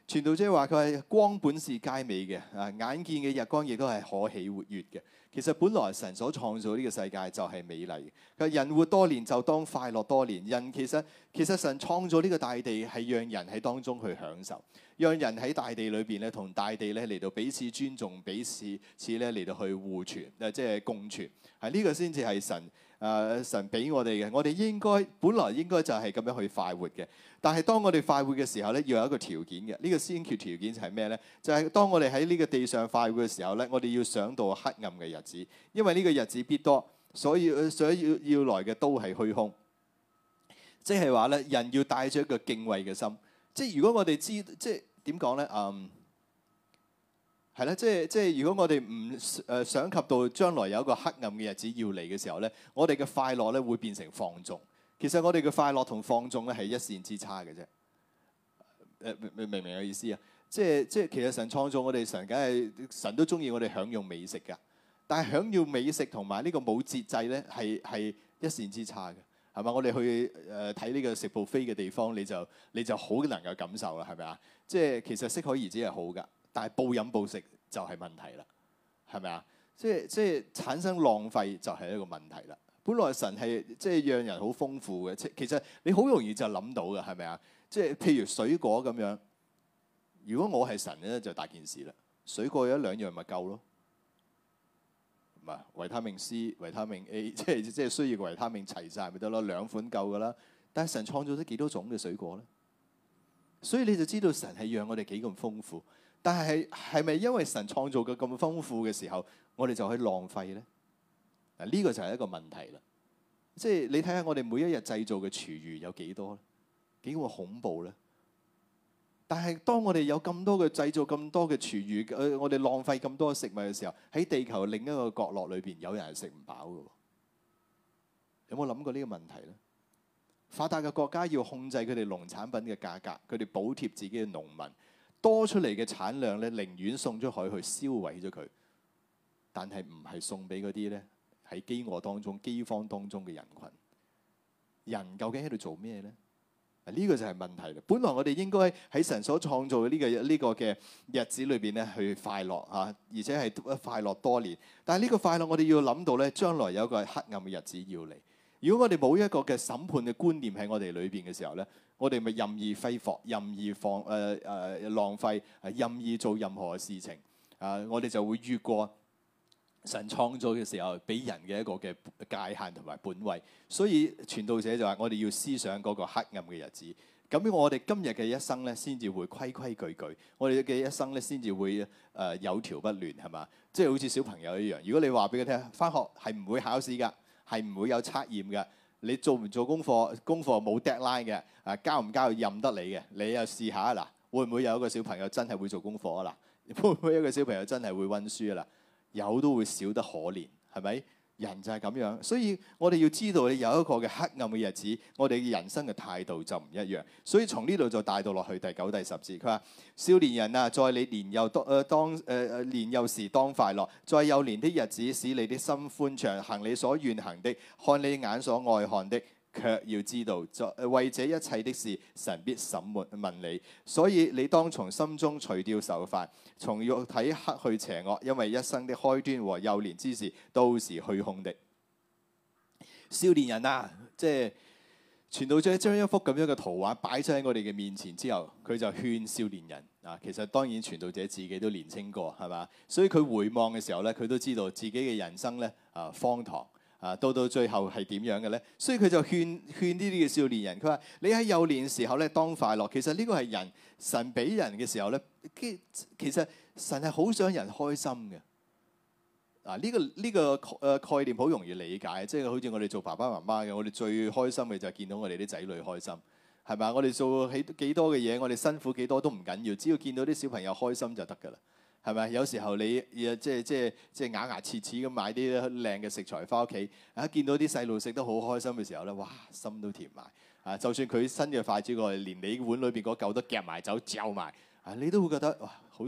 傳道者話佢係光本是佳美嘅，啊眼見嘅日光亦都係可喜活躍嘅。其實本來神所創造呢個世界就係美麗嘅。佢話人活多年就當快樂多年。人其實其實神創造呢個大地係讓人喺當中去享受，讓人喺大地裏邊咧同大地咧嚟到彼此尊重，彼此此咧嚟到去互存，誒即係共存。係呢個先至係神。誒、呃、神俾我哋嘅，我哋應該本來應該就係咁樣去快活嘅。但係當我哋快活嘅時候咧，要有一個條件嘅。呢、這個先決條件就係咩咧？就係、是、當我哋喺呢個地上快活嘅時候咧，我哋要想到黑暗嘅日子，因為呢個日子必多，所以所以要要來嘅都係虛空。即係話咧，人要帶著一個敬畏嘅心。即係如果我哋知，即係點講咧？嗯。係啦，即係即係，如果我哋唔誒想及到將來有一個黑暗嘅日子要嚟嘅時候咧，我哋嘅快樂咧會變成放縱。其實我哋嘅快樂同放縱咧係一線之差嘅啫。誒明明唔明我意思啊？即係即係，其實神創造我哋，神梗係神都中意我哋享用美食㗎。但係享用美食同埋呢個冇節制咧，係係一線之差嘅，係嘛？我哋去誒睇呢個食 buffet嘅地方，你就你就好能夠感受啦，係咪啊？即係其實適可而止係好㗎。但係暴飲暴食就係問題啦，係咪啊？即係即係產生浪費就係一個問題啦。本來神係即係讓人好豐富嘅，即其實你好容易就諗到嘅，係咪啊？即係譬如水果咁樣，如果我係神咧，就大件事啦。水果有一兩樣咪夠咯，唔係維他命 C、維他命 A， 即係即係需要個維他命齊晒咪得咯，兩款夠噶啦。但係神創造咗幾多種嘅水果咧？所以你就知道神係讓我哋幾咁豐富。但係係咪因為神創造嘅咁豐富嘅時候，我哋就可以浪費咧？嗱，呢個就係一個問題啦。即係你睇下我哋每一日製造嘅廚餘有幾多咧？幾咁恐怖咧？但係當我哋有咁多嘅製造咁多嘅廚餘，誒我哋浪費咁多食物嘅時候，喺地球另一個角落裏邊有人係食唔飽嘅。有冇諗過呢個問題咧？發達嘅國家要控制佢哋農產品嘅價格，佢哋補貼自己嘅農民。多出嚟嘅產量咧，寧願送咗海去燒毀咗佢，但係唔係送俾嗰啲咧喺饑餓當中、饑荒當中嘅人群。人究竟喺度做咩咧？呢、這個就係問題啦。本來我哋應該喺神所創造嘅呢、這個呢、這個嘅日子裏邊咧去快樂嚇，而且係快樂多年。但係呢個快樂我哋要諗到咧，將來有一個黑暗嘅日子要嚟。如果我哋冇一個嘅審判嘅觀念喺我哋裏邊嘅時候咧，我哋咪任意揮霍、任意放誒誒、呃呃、浪費、任意做任何嘅事情啊、呃！我哋就會越過神創造嘅時候俾人嘅一個嘅界限同埋本位。所以傳道者就話：我哋要思想嗰個黑暗嘅日子。咁我哋今日嘅一生咧，先至會規規矩矩；我哋嘅一生咧，先至會誒、呃、有條不亂，係嘛？即係好似小朋友一樣。如果你話俾佢聽，返學係唔會考試㗎。係唔會有測驗嘅？你做唔做功課？功課冇 deadline 嘅，啊交唔交任得你嘅。你又試下啊嗱，會唔會有一個小朋友真係會做功課啊嗱？會唔會有一個小朋友真係會溫書啊嗱？有都會少得可憐，係咪？人就係咁樣，所以我哋要知道你有一個嘅黑暗嘅日子，我哋嘅人生嘅態度就唔一樣。所以從呢度就帶到落去第九、第十節，佢話：少年人啊，在你年幼當誒當誒誒年幼時當快樂，在幼年的日子使你的心歡暢，行你所願行的，看你眼所愛看的。卻要知道，在為這一切的事，神必審問問你。所以你當從心中除掉愁煩，從肉體克去邪惡，因為一生的開端和幼年之時都是虛空的。少年人啊，即係傳道者將一幅咁樣嘅圖畫擺咗喺我哋嘅面前之後，佢就勸少年人啊。其實當然傳道者自己都年青過，係嘛？所以佢回望嘅時候咧，佢都知道自己嘅人生咧啊荒唐。啊，到到最後係點樣嘅咧？所以佢就勸勸呢啲嘅少年人，佢話：你喺幼年時候咧當快樂。其實呢個係人神俾人嘅時候咧，其實神係好想人開心嘅。啊，呢個呢個誒概念好容易理解，即係好似我哋做爸爸媽媽嘅，我哋最開心嘅就係見到我哋啲仔女開心，係咪？我哋做起幾多嘅嘢，我哋辛苦幾多都唔緊要，只要見到啲小朋友開心就得㗎啦。係咪？有時候你即係即係即係咬牙切齒咁買啲靚嘅食材翻屋企，啊見到啲細路食得好開心嘅時候咧，哇心都甜埋啊！就算佢新嘅筷子過嚟，連你碗裏邊嗰嚿都夾埋走嚼埋啊，你都會覺得哇好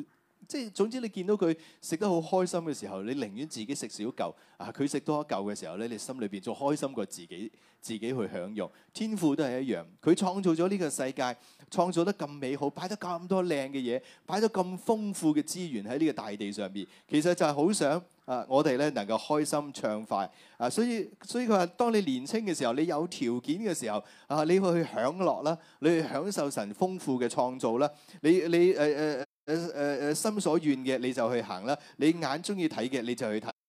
即係總之你見到佢食得好開心嘅時候，你寧願自己食少嚿啊，佢食多一嚿嘅時候咧，你心裏邊仲開心過自己自己去享用。天父都係一樣，佢創造咗呢個世界，創造得咁美好，擺得咁多靚嘅嘢，擺咗咁豐富嘅資源喺呢個大地上邊，其實就係好想啊，我哋咧能夠開心暢快啊，所以所以佢話，當你年輕嘅時候，你有條件嘅時候啊，你會去享樂啦，你去享受神豐富嘅創造啦，你你誒誒誒誒誒心所願嘅你就去行啦，你眼中意睇嘅你就去睇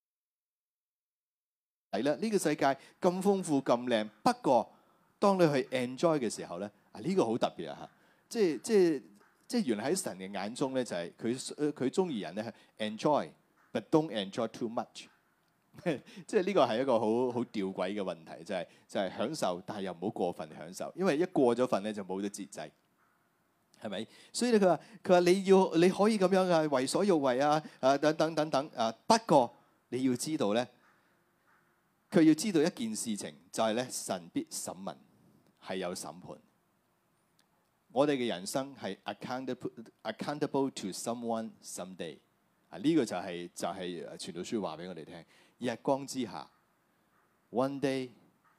睇啦。呢個世界咁豐富咁靚，不過當你去 enjoy 嘅時候咧，啊呢個好特別啊嚇，即係即係即係原來喺神嘅眼中咧，就係佢佢中意人咧係 enjoy。But don't enjoy too much 即係呢個係一個好好吊詭嘅問題，就係、是、就係、是、享受，但係又唔好過分享受，因為一過咗份咧就冇咗節制，係咪？所以咧佢話佢話你要你可以咁樣啊，為所欲為啊，啊等等等等啊，不過你要知道咧，佢要知道一件事情，就係、是、咧神必審問，係有審判。我哋嘅人生係 accountable accountable to someone someday。啊！呢個就係就係傳道書話俾我哋聽，日光之下 ，one day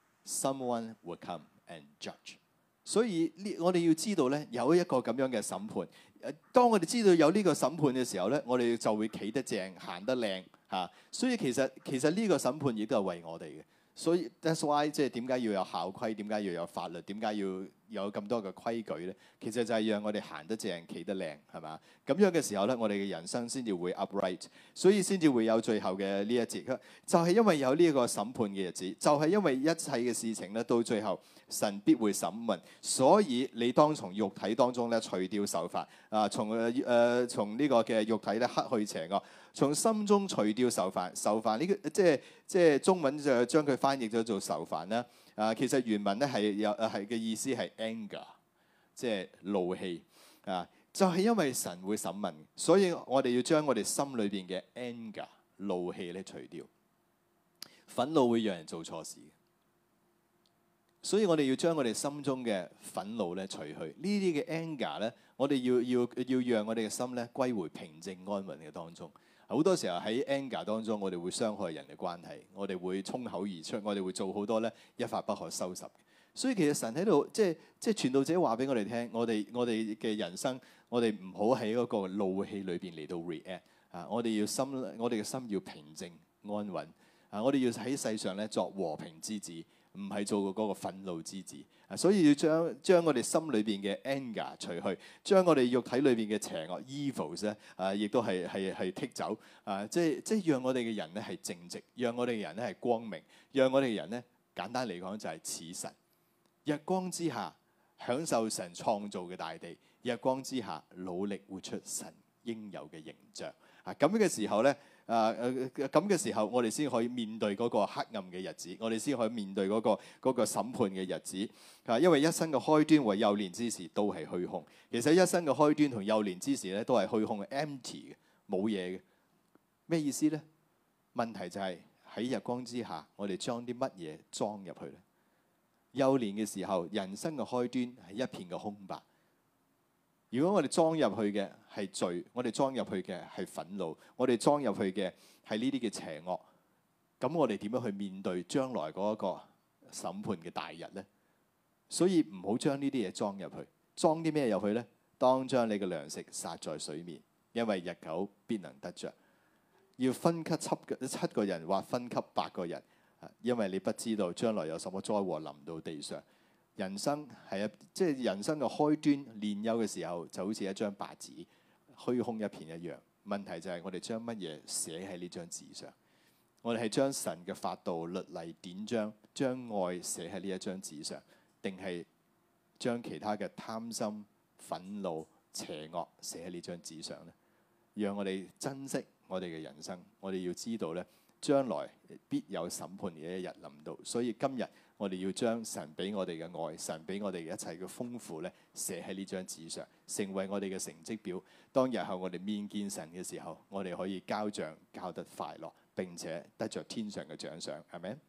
someone will come and judge。所以呢，我哋要知道咧，有一個咁樣嘅審判。誒，當我哋知道有呢個審判嘅時候咧，我哋就會企得正，行得靚嚇。所以其實其實呢個審判亦都係為我哋嘅。所以 that's why 即係點解要有校規，點解要有法律，點解要有咁多嘅規矩咧？其實就係讓我哋行得正，企得靚，係嘛？咁樣嘅時候咧，我哋嘅人生先至會 upright， 所以先至會有最後嘅呢一節。就係因為有呢一個審判嘅日子，就係因為一切嘅事情咧，到最後神必會審問，所以你當從肉體當中咧除掉愁煩啊，從誒誒從呢個嘅肉體咧克去邪惡，從心中除掉愁煩。愁煩呢個即係即係中文就將佢翻譯咗做愁煩啦。啊，其實原文咧係有係嘅意思係 anger， 即係怒氣啊。就係因為神會審問，所以我哋要將我哋心裏邊嘅 anger 怒氣咧除掉。憤怒會讓人做錯事，所以我哋要將我哋心中嘅憤怒咧除去。呢啲嘅 anger 咧，我哋要要要讓我哋嘅心咧歸回平靜安穩嘅當中。好多時候喺 anger 當中，我哋會傷害人嘅關係，我哋會衝口而出，我哋會做好多咧一發不可收拾。所以其實神喺度，即係即係傳道者話俾我哋聽，我哋我哋嘅人生，我哋唔好喺嗰個怒氣裏邊嚟到 react 啊！我哋要心，我哋嘅心要平靜安穩啊！我哋要喺世上咧作和平之子，唔係做嗰個憤怒之子啊！所以要將將我哋心裏邊嘅 anger 除去，將我哋肉體裏邊嘅邪惡 evils 咧啊，亦都係係係剔走啊！即係即係讓我哋嘅人咧係正直，讓我哋嘅人咧係光明，讓我哋嘅人咧簡單嚟講就係似神。日光之下享受神創造嘅大地，日光之下努力活出神應有嘅形象啊！咁嘅時候咧，啊誒咁嘅時候，我哋先可以面對嗰個黑暗嘅日子，我哋先可以面對嗰個嗰個審判嘅日子啊！因為一生嘅開端和幼年之時都係虛空。其實一生嘅開端同幼年之時咧都係虛空嘅 empty 嘅，冇嘢嘅。咩意思咧？問題就係喺日光之下，我哋將啲乜嘢裝入去咧？幼年嘅時候，人生嘅開端係一片嘅空白。如果我哋裝入去嘅係罪，我哋裝入去嘅係憤怒，我哋裝入去嘅係呢啲嘅邪惡，咁我哋點樣去面對將來嗰一個審判嘅大日呢？所以唔好將呢啲嘢裝入去。裝啲咩入去呢？當將你嘅糧食撒在水面，因為日久必能得着。要分給七個七個人，或分給八個人。因為你不知道將來有什麼災禍臨到地上。人生係一即係人生嘅開端，年幼嘅時候就好似一張白紙，虛空一片一樣。問題就係我哋將乜嘢寫喺呢張紙上？我哋係將神嘅法度、律例、典章，將愛寫喺呢一張紙上，定係將其他嘅貪心、憤怒、邪惡寫喺呢張紙上呢？讓我哋珍惜我哋嘅人生。我哋要知道咧，將來必有審判嘅一日臨到，所以今日我哋要將神俾我哋嘅愛，神俾我哋嘅一切嘅豐富咧，寫喺呢張紙上，成為我哋嘅成績表。當日後我哋面見神嘅時候，我哋可以交賬交得快樂，並且得着天上嘅獎賞，係咪？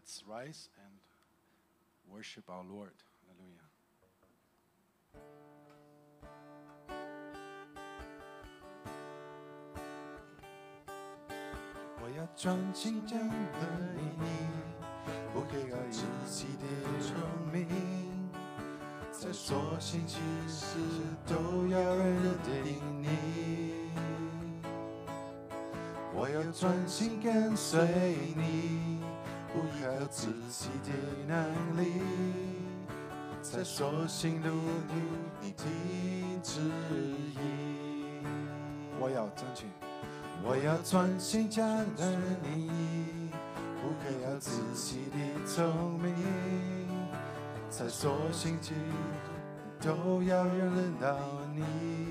Let's rise and worship our Lord. Hallelujah. 我要专心将爱你，不给爱自己的聪明，在所行其事都要认定你。我要专心跟随你，不依靠自己的能力，在所行路途你的旨意。我要争取。我要专心将爱你，不可要自己的聪明，在所行其都要认到你。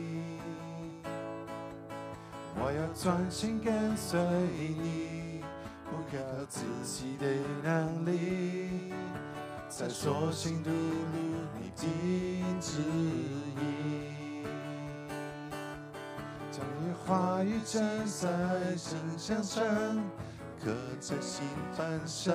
我要专心跟随你，不可靠自己的能力，在所行路路你的旨意。将你话语站在心上上，刻在心板上。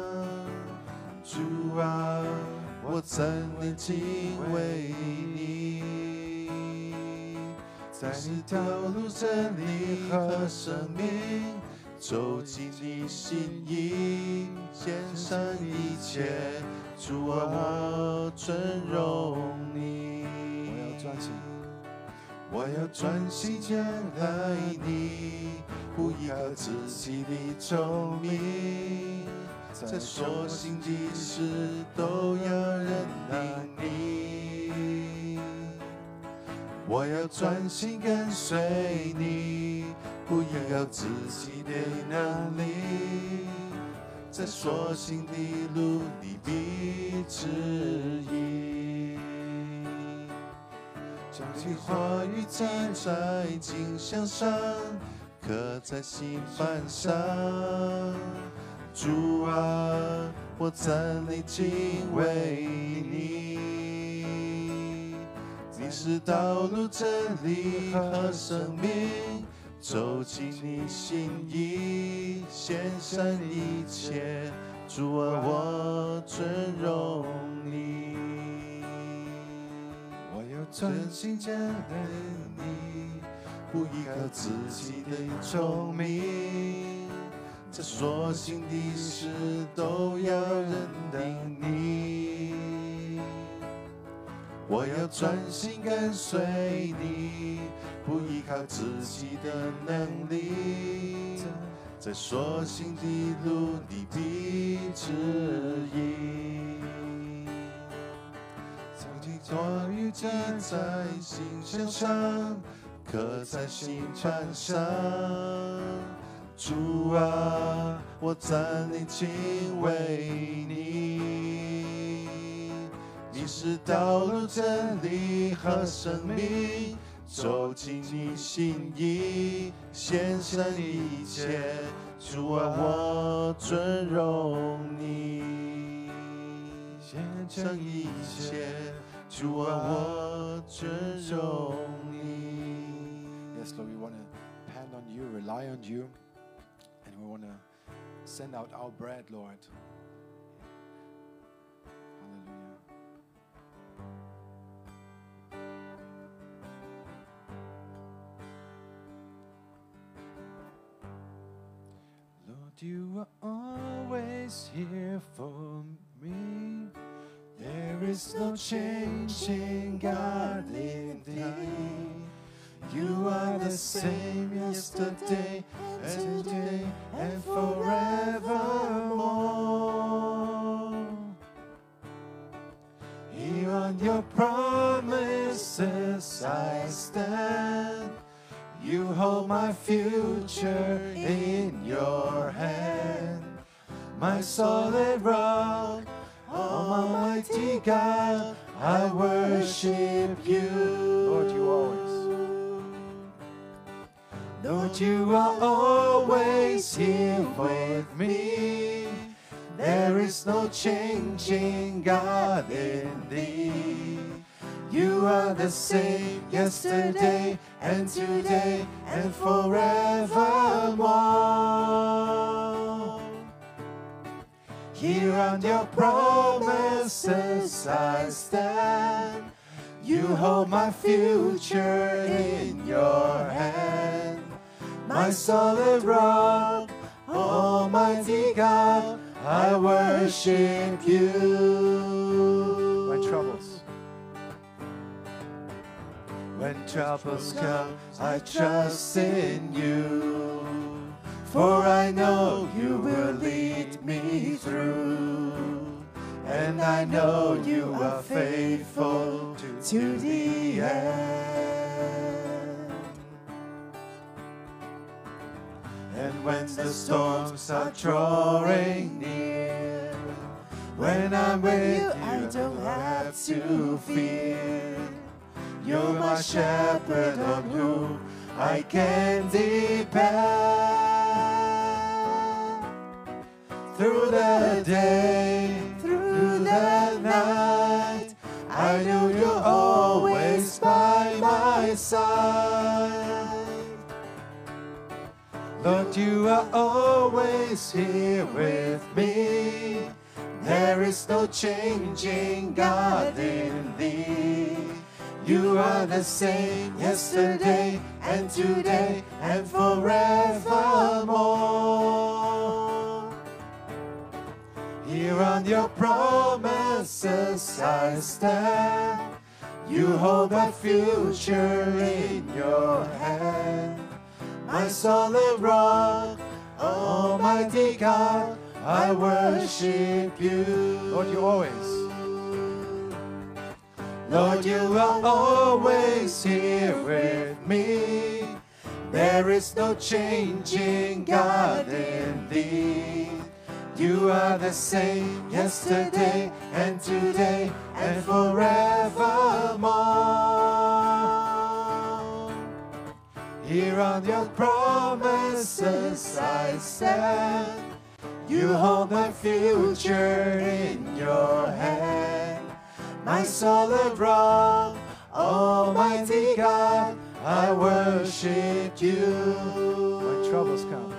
主啊，我真的敬畏你，在你道路真理和生命，走进你心意，献上一切。主啊，我尊荣你。我要专心。我要专心将爱你，不依靠自己的聪明，在所行的事都要认定你。我要专心跟随你，不依靠自己的能力，在所行的路你的旨意。将你话语站在经箱上，刻在心板上。主啊，我赞你敬畏你，你是道路真理和生命，走进你心意，献上一切。主啊，我尊荣你。专心将爱你，不依靠自己的聪明，在所行的事都要认定你。我要专心跟随你，不依靠自己的能力，在所行的路你的旨意。话语站在心箱上，刻在心板上。主啊，我赞你敬畏你，你是道路真理和生命，走进你心意，献上一切。主啊，我尊荣你，献上一切。主啊，我尊荣你。Yes, Lord, we want to depend on you, rely on you, and we want to send out our bread, Lord. Hallelujah. Lord, you are always here for me. There is no changing God in thee. You are the same yesterday and today and forevermore. Here on your promises I stand. You hold my future in your hand. My solid rock, Almighty God, I worship you. Lord, you always. Lord, you are always here with me. There is no changing God in thee. You are the same yesterday and today and forevermore. Here on your promises I stand. You hold my future in your hand. My solid rock, Almighty God, I worship you. When troubles, when troubles come, I trust in you. For I know you will lead me through. And I know you are faithful to the end. And when the storms are drawing near, when I'm with you, I don't have to fear. You're my shepherd on whom I can depend. Through the day, through the night, I know you're always by my side. Lord, you are always here with me. There is no changing God in thee. You are the same yesterday and today and forevermore. Here on your promises I stand. You hold my future in your hand. My solid rock, Almighty God, I worship you. Lord, you always, Lord, you are always here with me. There is no changing God in thee. You are the same yesterday and today and forevermore. Here on your promises I stand. You hold my future in your hand. My solid rock, Almighty God, I worship you. When troubles come,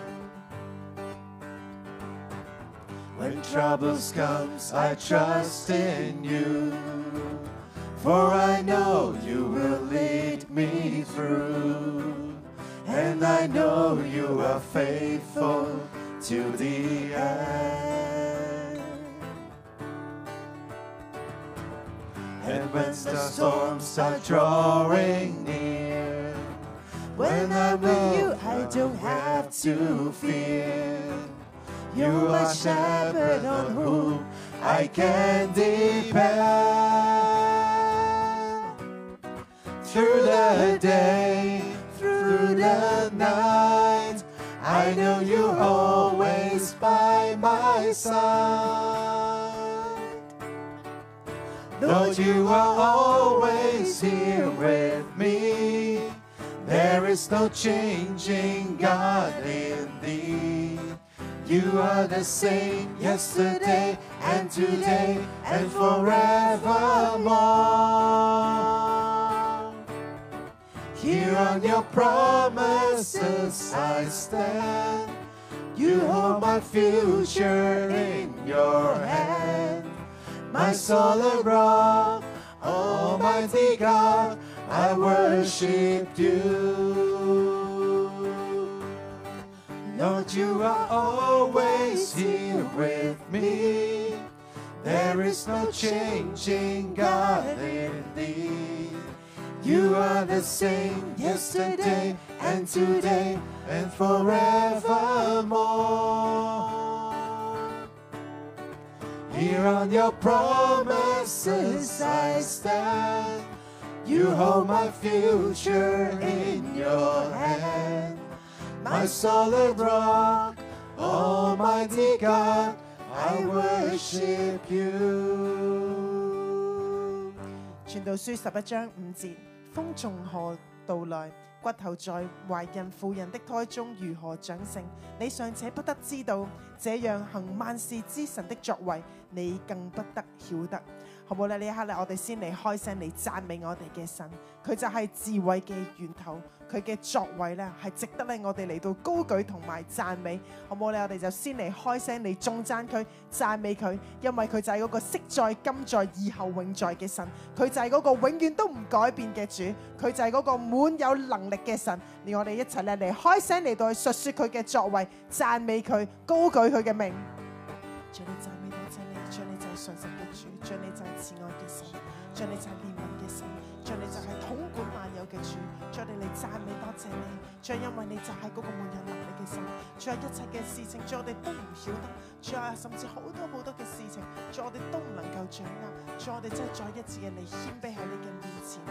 when troubles come, I trust in you. For I know you will lead me through. And I know you are faithful to the end. And when the storms are drawing near, when I'm with you, I don't have to fear. You are shepherd on whom I can depend. Through the day, through the night, I know you're always by my side. Lord, you are always here with me. There is no changing God in thee. You are the same yesterday and today and forevermore. Here on your promises I stand. You hold my future in your hand. My solid rock, Almighty God, I worship you. Lord, you are always here with me. There is no changing God in thee. You are the same yesterday and today and forevermore. Here on your promises I stand. You hold my future in your hand. My solid rock, Almighty God, I worship you. 傳道書十一章五節，風從何道來？骨頭在懷孕婦人的胎中如何長成？你尚且不得知道，這樣行萬事之神的作為，你更不得曉得。 好唔好咧？呢一刻咧，我哋先嚟開聲嚟讚美我哋嘅神，佢就係智慧嘅源頭，佢嘅作為咧係值得咧我哋嚟到高舉同埋讚美，好唔好咧？我哋就先嚟開聲嚟頌讚佢、讚美佢，因為佢就係嗰個昔在、今在、以後永在嘅神，佢就係嗰個永遠都唔改變嘅主，佢就係嗰個滿有能力嘅神。連我哋一齊咧嚟開聲嚟到去述說佢嘅作為，讚美佢，高舉佢嘅名。主你讚美多謝你，主你就係信實嘅主，主你就係慈愛嘅神，主你就係憐憫嘅神，主你就係統管萬有嘅主，主你嚟讚美多謝你，主因為你就係嗰個滿有能力嘅神，主一切嘅事情，主我哋都唔曉得，主啊甚至好多好多嘅事情，主我哋都唔能夠掌握，主我哋真係再一次嘅嚟謙卑喺你嘅面前。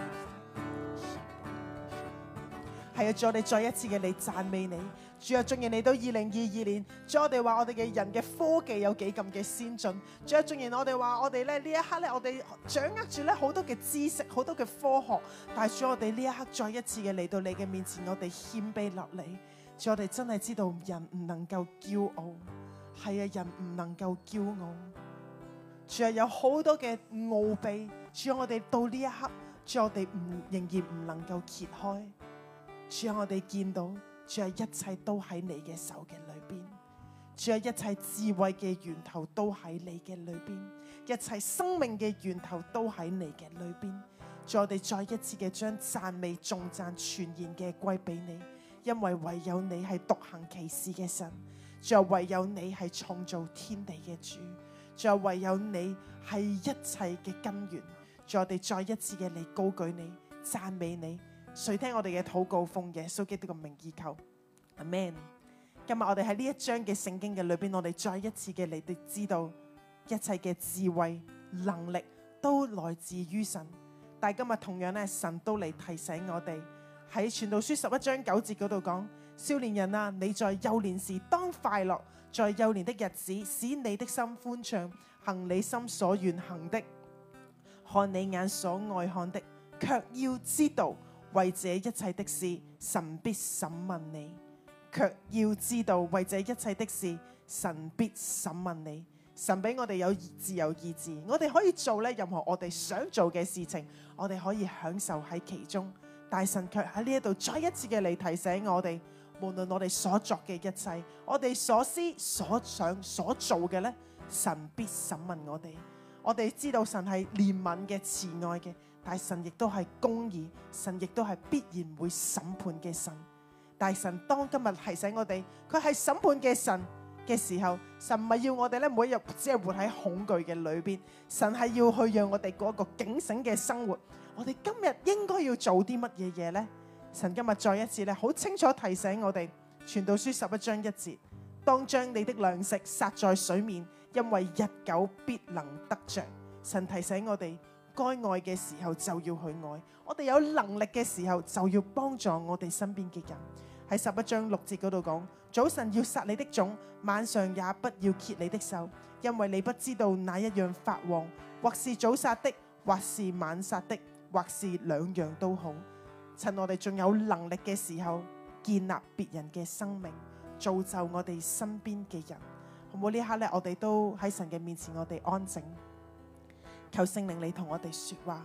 係啊，主我哋再一次嘅嚟讚美你，主啊，縱然嚟到二零二二年，主我哋話我哋嘅人嘅科技有幾咁嘅先進，主啊，縱然我哋話我哋咧呢一刻咧，我哋掌握住咧好多嘅知識，好多嘅科學，但係主我哋呢一刻再一次嘅嚟到你嘅面前，我哋謙卑落嚟，主我哋真係知道人唔能夠驕傲，係啊，人唔能夠驕傲，主啊，有好多嘅奧秘，主啊，我哋到呢一刻，主我哋唔仍然唔能夠揭開。主啊，我哋見到，主啊，一切都喺你嘅手嘅裏邊。主啊，一切智慧嘅源頭都喺你嘅裏邊，一切生命嘅源頭都喺你嘅裏邊。主，我哋再一次嘅將讚美、頌讚全然嘅歸俾你，因為唯有你係獨行其事嘅神。主啊，唯有你係創造天地嘅主。主啊，唯有你係一切嘅根源。主，我哋再一次嘅嚟高舉你、讚美你。垂聽我哋嘅禱告，奉耶穌基督嘅名義求，阿們。今日我哋喺呢一章嘅聖經嘅裏邊，我哋再一次嘅嚟到知道一切嘅智慧能力都來自於神。但係今日同樣咧，神都嚟提醒我哋喺傳道書十一章九節嗰度講：少年人啊，你在幼年時當快樂，在幼年的日子使你的心歡暢，行你心所願行的，看你眼所愛看的，卻要知道。為這一切的事，神必審問你；卻要知道，為這一切的事，神必審問你。神俾我哋有自由意志，我哋可以做咧任何我哋想做嘅事情，我哋可以享受喺其中。但神卻喺呢一度再一次嘅嚟提醒我哋，無論我哋所作嘅一切，我哋所思所想所做嘅咧，神必審問我哋。我哋知道神係憐憫嘅、慈愛嘅。但神亦都係公義，神亦都係必然會審判嘅神。但神當今日提醒我哋，佢係審判嘅神嘅時候，神唔係要我哋咧每一日只係活喺恐懼嘅裏邊，神係要去讓我哋過一個警醒嘅生活。我哋今日應該要做啲乜嘢嘢呢？神今日再一次咧好清楚提醒我哋，傳道書十一章一節：當將你的糧食撒在水面，因為日久必能得着。神提醒我哋。該愛嘅時候就要去愛，我哋有能力嘅時候就要幫助我哋身邊嘅人。喺十一章六節嗰度講：早晨要撒你的種，晚上也不要歇你的手，因為你不知道哪一樣發旺，或是早撒的，或是晚撒的，或是兩樣都好。趁我哋仲有能力嘅時候，建立別人嘅生命，造就我哋身邊嘅人。好唔好呢刻咧？我哋都喺神嘅面前，我哋安靜。求聖靈你同我哋說話，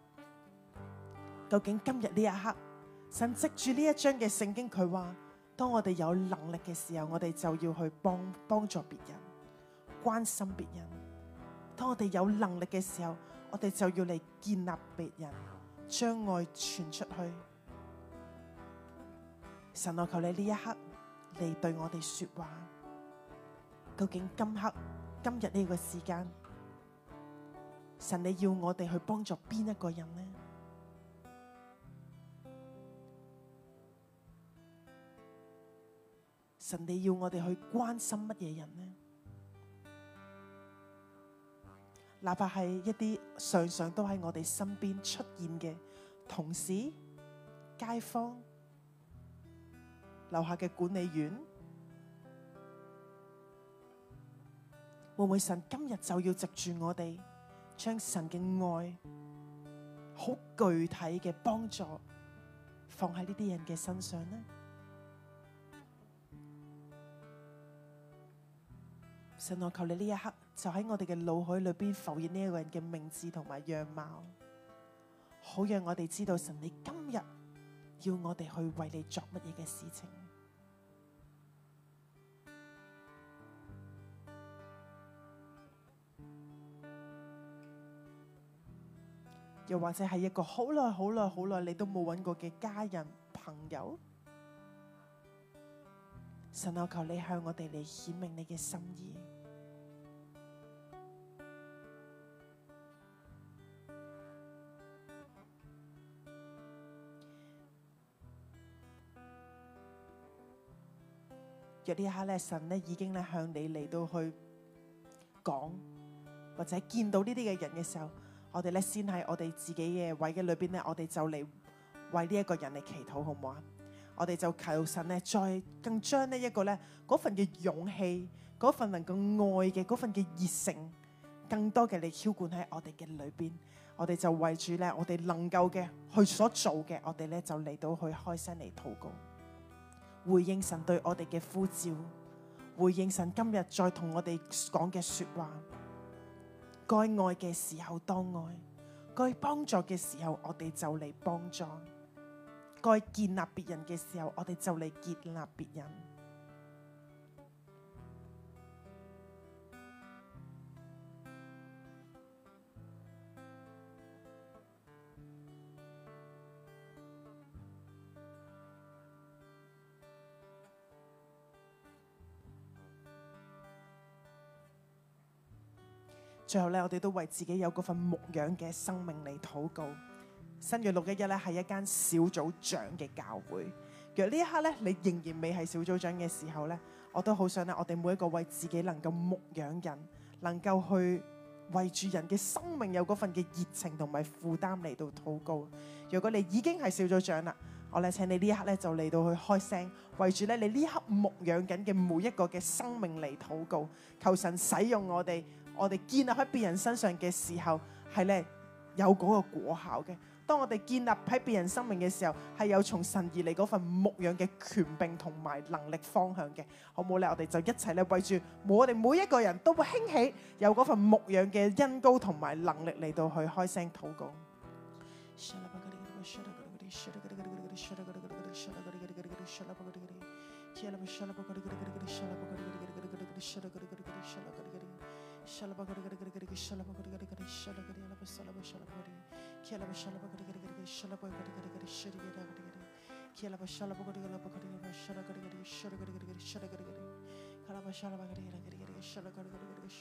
究竟今日呢一刻，神藉住呢一章嘅聖經，佢話當我哋有能力嘅時候，我哋就要去幫幫助別人，關心別人。當我哋有能力嘅時候，我哋就要嚟建立別人，將愛傳出去。神，我求你呢一刻嚟對我哋說話，究竟今刻今日呢個時間，神你要我哋去幫助邊一個人呢？神你要我哋去關心乜嘢人呢？哪怕係一啲常常都喺我哋身邊出現嘅同事、街坊、樓下嘅管理員，會唔會神今日就要藉住我哋？將神嘅愛好具體嘅幫助放喺呢啲人嘅身上呢？ 神，我求你呢一刻就喺我哋嘅腦海裏邊浮現呢一個人嘅名字同埋樣貌，好讓我哋知道神你今日要我哋去為你作乜嘢嘅事情。又或者係一個好耐好耐好耐你都冇揾過嘅家人朋友，神，我求你向我哋嚟顯明你嘅心意。若呢一刻咧，神咧已經咧向你嚟到去講，或者見到呢啲嘅人嘅時候，我哋咧先喺我哋自己嘅位嘅裏邊咧，我哋就嚟為呢一個人嚟祈禱，好唔好啊？我哋就求神咧，再更將呢一個咧嗰份嘅勇氣，嗰份能夠愛嘅嗰份嘅熱誠，更多嘅嚟澆灌喺我哋嘅裏邊。我哋就為住咧，我哋能夠嘅去所做嘅，我哋咧就嚟到去開聲嚟禱告，回應神對我哋嘅呼召，回應神今日再同我哋講嘅說話。該愛嘅時候當愛，該幫助嘅時候我哋就嚟幫助，該建立別人嘅時候我哋就嚟建立別人。最後咧，我哋都為自己有嗰份牧養嘅生命嚟禱告。新約六一一咧係一間小組長嘅教會。若呢一刻咧，你仍然未係小組長嘅時候咧，我都好想咧，我哋每一個為自己能夠牧養人，能夠去為住人嘅生命有嗰份嘅熱情同埋負擔嚟到禱告。如果你已經係小組長啦，我咧請你呢一刻咧就嚟到去開聲，為住咧你呢一刻牧養緊嘅每一個嘅生命嚟禱告，求神使用我哋。我哋建立喺別人身上嘅時候，係咧有嗰個果效嘅。當我哋建立喺別人生命嘅時候，係有從神而嚟嗰份牧養嘅權柄同埋能力方向嘅，好唔好咧？我哋就一齊咧為住我哋每一個人都會興起有嗰份牧養嘅恩膏同埋能力嚟到去開聲禱告。Shalabagadi shalabagadi shalagadi alaba salaba shalabagadi kialaba shalabagadi shalabagadi shalagadi kialaba shalabagadi alabagadi shalagadi shalagadi shalagadi kalaba shalabagadi shalagadi shalagadi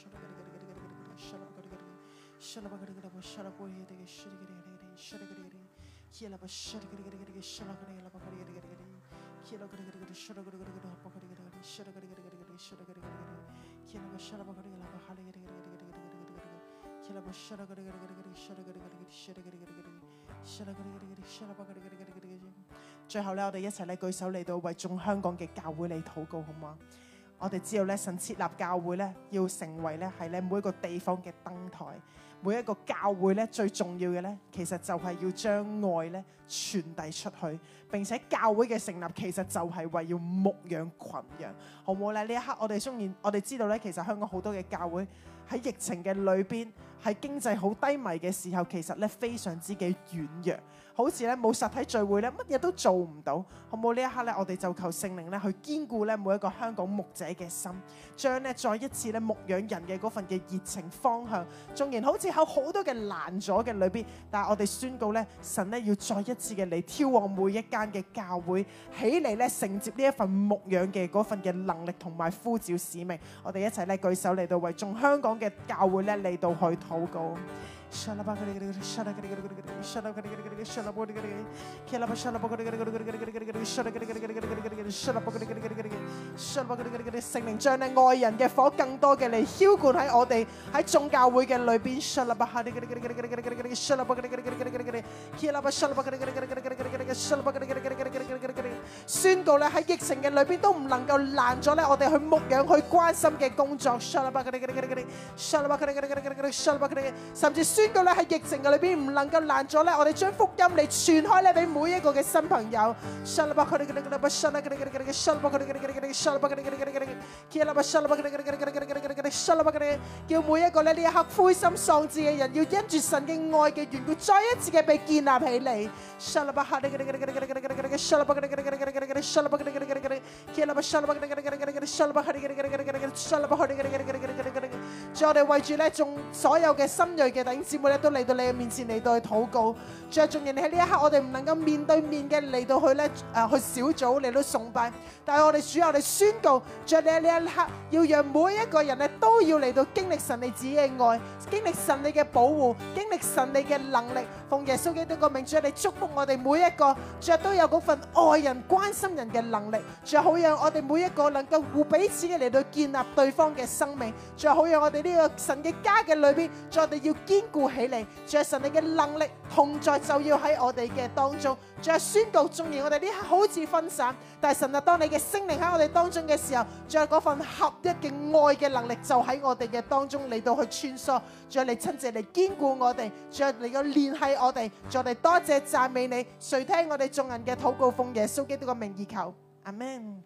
shalagadi shalabagadi alaba shalabagadi shalagadi shalagadi kialaba shalagadi shalagadi alabagadi kialaba shalagadi alabagadi shalagadi shalagadi Kilaba shalaba gadi laba hali gadi gadi gadi gadi gadi gadi gadi. Kilaba shala gadi gadi gadi gadi shala gadi gadi gadi shala gadi gadi gadi shala gadi gadi gadi shalaba gadi gadi gadi gadi gadi。最後咧，我哋一齊咧舉手嚟到為眾香港嘅教會嚟禱告，好嗎？我哋知道咧，神設立教會咧，要成為咧係咧每一個地方嘅燈台。每一個教會咧最重要嘅咧，其實就係要將愛咧傳遞出去，並且教會嘅成立其實就係為要牧養群羊，好唔好咧？呢一刻我哋雖然我哋知道咧，其實香港好多嘅教會喺疫情嘅裏邊，喺經濟好低迷嘅時候，其實咧非常之嘅軟弱，好似咧冇實體聚會咧，乜嘢都做唔到，好唔好？呢一刻咧，我哋就求聖靈咧去堅固咧每一個香港牧者嘅心，將咧再一次咧牧養人嘅嗰份嘅熱情方向，縱然好似有好多嘅攔阻嘅裏邊，但係我哋宣告咧，神咧要再一次嘅嚟挑旺每一間嘅教會起嚟咧，承接呢一份牧養嘅嗰份嘅能力同埋呼召使命。我哋一齊咧舉手嚟到為眾香港嘅教會咧嚟到去禱告。聖靈將咧愛人嘅火更多嘅嚟澆灌喺我哋喺眾教會嘅裏邊。 宣告咧喺疫情嘅裏邊都唔能夠攔咗咧我哋去牧養去關心嘅工作，甚至宣告咧喺疫情嘅裏邊唔能夠攔咗咧我哋將福音嚟傳開咧俾每一個嘅新朋友。叫每一個咧呢一刻灰心喪志嘅人，要因住神嘅愛嘅緣故，再一次嘅被建立起嚟。主，我哋為住咧眾所有嘅新銳嘅弟兄姊妹咧，都嚟到你嘅面前嚟到去禱告。主啊，縱然你喺呢一刻我哋唔能夠面對面嘅嚟到去咧誒去小組嚟到崇拜，但係我哋主，我哋宣告，主啊，你喺呢一刻要讓每一個人咧都要嚟到經歷神你自己嘅愛，經歷神你嘅保護，經歷神你嘅能力。奉耶穌基督個名，主啊，你祝福我哋每一個，主啊，都有嗰份愛人關心人嘅能力。主啊，好讓我哋每一個能夠互彼此嘅嚟到建立對方嘅生命。主啊，好讓我哋呢個神嘅家嘅裏邊，主啊，我哋要堅固起嚟。主啊，神你嘅能力同在就要喺我哋嘅當中。主啊，宣告，縱然我哋呢刻好似分散，但係神啊，當你嘅聖靈喺我哋當中嘅時候，主啊，嗰份合一嘅愛嘅能力就喺我哋嘅當中嚟到去穿梭。主啊，你親自嚟堅固我哋，主啊，你要聯繫我哋。主啊，我哋多謝讚美你，垂聽我哋眾人嘅禱告，奉耶穌基督嘅名義求，阿們。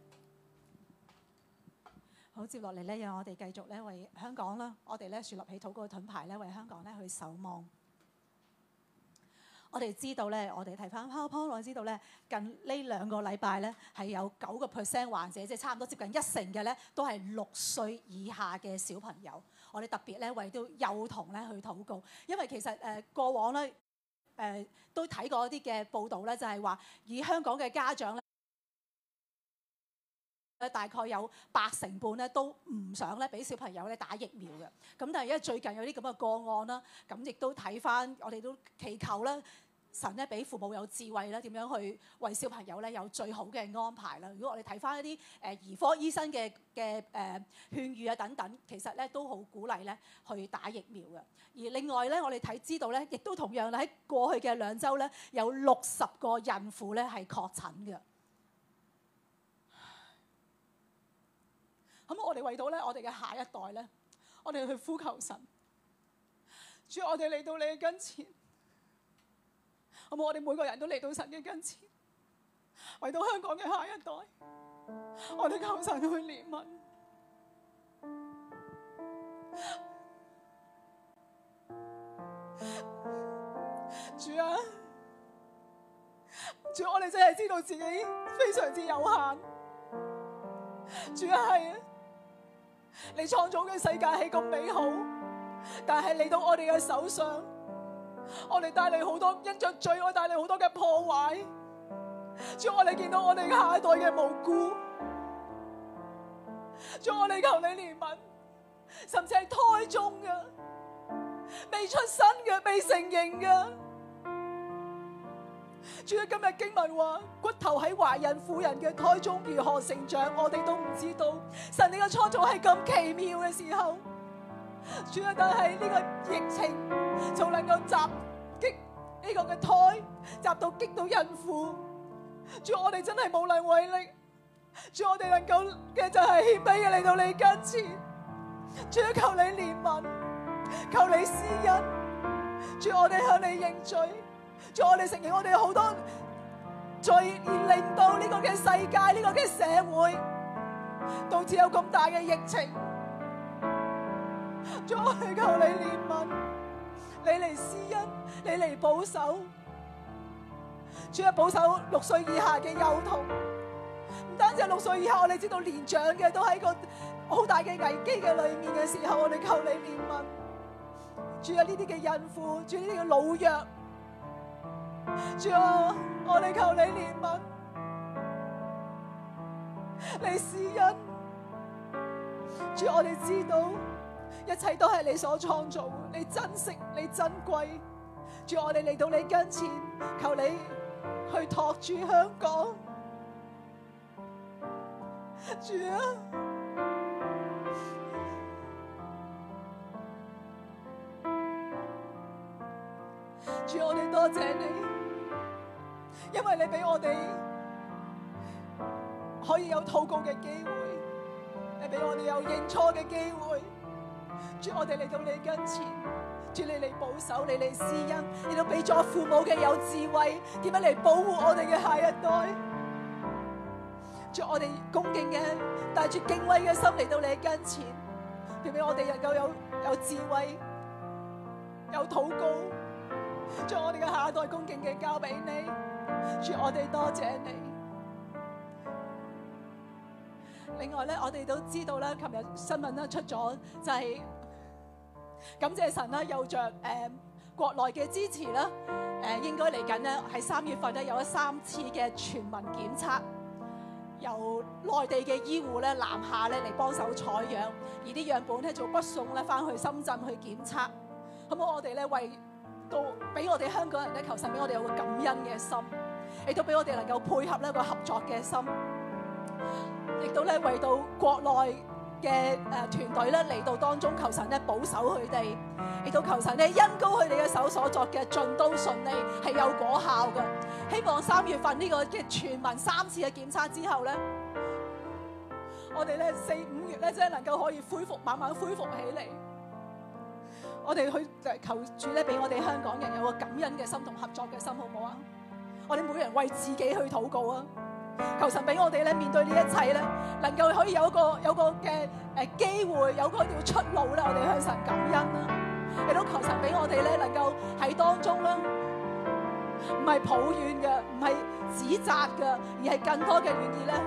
好，接落嚟咧，讓我哋繼續咧為香港啦，我哋咧樹立起禱告嘅盾牌咧，為香港咧去守望。我哋知道咧，我哋睇翻 PowerPoint， 我知道咧，近呢兩個禮拜咧係有九個 percent 患者，即係差唔多接近一成嘅咧，都係六歲以下嘅小朋友。我哋特別咧為到幼童咧去禱告，因為其實誒、呃、過往咧誒、呃、都睇過一啲嘅報道咧，就係話以香港嘅家長咧。大概有八成半咧都唔想咧俾小朋友咧打疫苗嘅，咁但係因為最近有啲咁嘅個案啦，咁亦都睇翻，我哋都祈求啦，神咧俾父母有智慧啦，點樣去為小朋友咧有最好嘅安排啦。如果我哋睇翻一啲誒兒科醫生嘅嘅誒勸喻啊等等，其實咧都好鼓勵咧去打疫苗嘅。而另外咧，我哋睇知道咧，亦都同樣喺過去嘅兩週咧，有六十個孕婦咧係確診嘅。咁我哋為到咧，我哋嘅下一代咧，我哋去呼求神。主，我哋嚟到你嘅跟前，好冇？我哋每個人都嚟到神嘅跟前，為到香港嘅下一代，我哋求神去憐憫。主啊，主，我哋真係知道自己非常之有限。主啊，係啊。你創造嘅世界係咁美好，但係嚟到我哋嘅手上，我哋帶嚟好多因着罪，我帶嚟好多嘅破壞。主，我哋見到我哋下一代嘅無辜，主，我哋求你憐憫，甚至係胎中嘅、未出生嘅、未成形嘅。主啊，今日經文話骨頭喺懷孕婦人嘅胎中如何成長，我哋都唔知道。神你嘅創造係咁奇妙嘅時候，主啊，但係呢個疫情就能夠襲擊呢個嘅胎，襲到擊到孕婦。主，我哋真係無能為力。主，我哋能夠嘅就係謙卑嘅嚟到你跟前。主啊，求你憐憫，求你施恩。主，我哋向你認罪。主，我哋承認我哋有好多罪，而令到呢個嘅世界、呢、這個嘅社會導致有咁大嘅疫情。主，我哋求你憐憫，你嚟施恩，你嚟保守。主啊，保守六歲以下嘅幼童，唔單止係六歲以下，我哋知道年長嘅都喺個好大嘅危機嘅裏面嘅時候，我哋求你憐憫。主啊，呢啲嘅孕婦，主呢啲嘅老弱。主啊，我哋求你憐憫，你施恩。主，我哋知道一切都係你所創造，你珍惜，你珍貴。主，我哋嚟到你跟前，求你去托住香港。主啊，主，我哋多謝你。因為你俾我哋可以有禱告嘅機會，你俾我哋有認錯嘅機會。主，我哋嚟到你跟前，主，你嚟保守，你嚟施恩，你都俾咗父母嘅有智慧，點樣嚟保護我哋嘅下一代。主，我哋恭敬嘅帶住敬畏嘅心嚟到你跟前，點俾我哋能夠有有智慧，有禱告，將我哋嘅下一代恭敬嘅交俾你。主，我哋多謝你。另外咧，我哋都知道咧，琴日新聞咧出咗，就係、是、感謝神啦，有着誒、呃、國內嘅支持啦，誒、呃、應該嚟緊咧喺三月份咧有咗三次嘅全民檢測，由內地嘅醫護咧南下咧嚟幫手採樣，而啲樣本咧就北送咧翻去深圳去檢測。咁我哋咧為到俾我哋香港人咧，求神俾我哋有個感恩嘅心，亦都俾我哋能夠配合呢個合作嘅心。亦都咧為到國內嘅誒團隊咧嚟到當中，求神咧保守佢哋，亦都求神咧恩膏佢哋嘅手所作嘅盡都順利，係有果效嘅。希望三月份呢個嘅全民三次嘅檢測之後咧，我哋咧四五月咧即係能夠可以恢復，慢慢恢復起嚟。我哋去求主咧俾我哋香港人有個感恩嘅心同合作嘅心，好唔好啊？我哋每人為自己去禱告啊！求神俾我哋咧面對呢一切咧，能夠可以有一個有個嘅誒機會，有個條出路咧，我哋向神感恩啦。亦都求神俾我哋咧，能夠喺當中咧，唔係抱怨嘅，唔係指責嘅，而係更多嘅願意咧。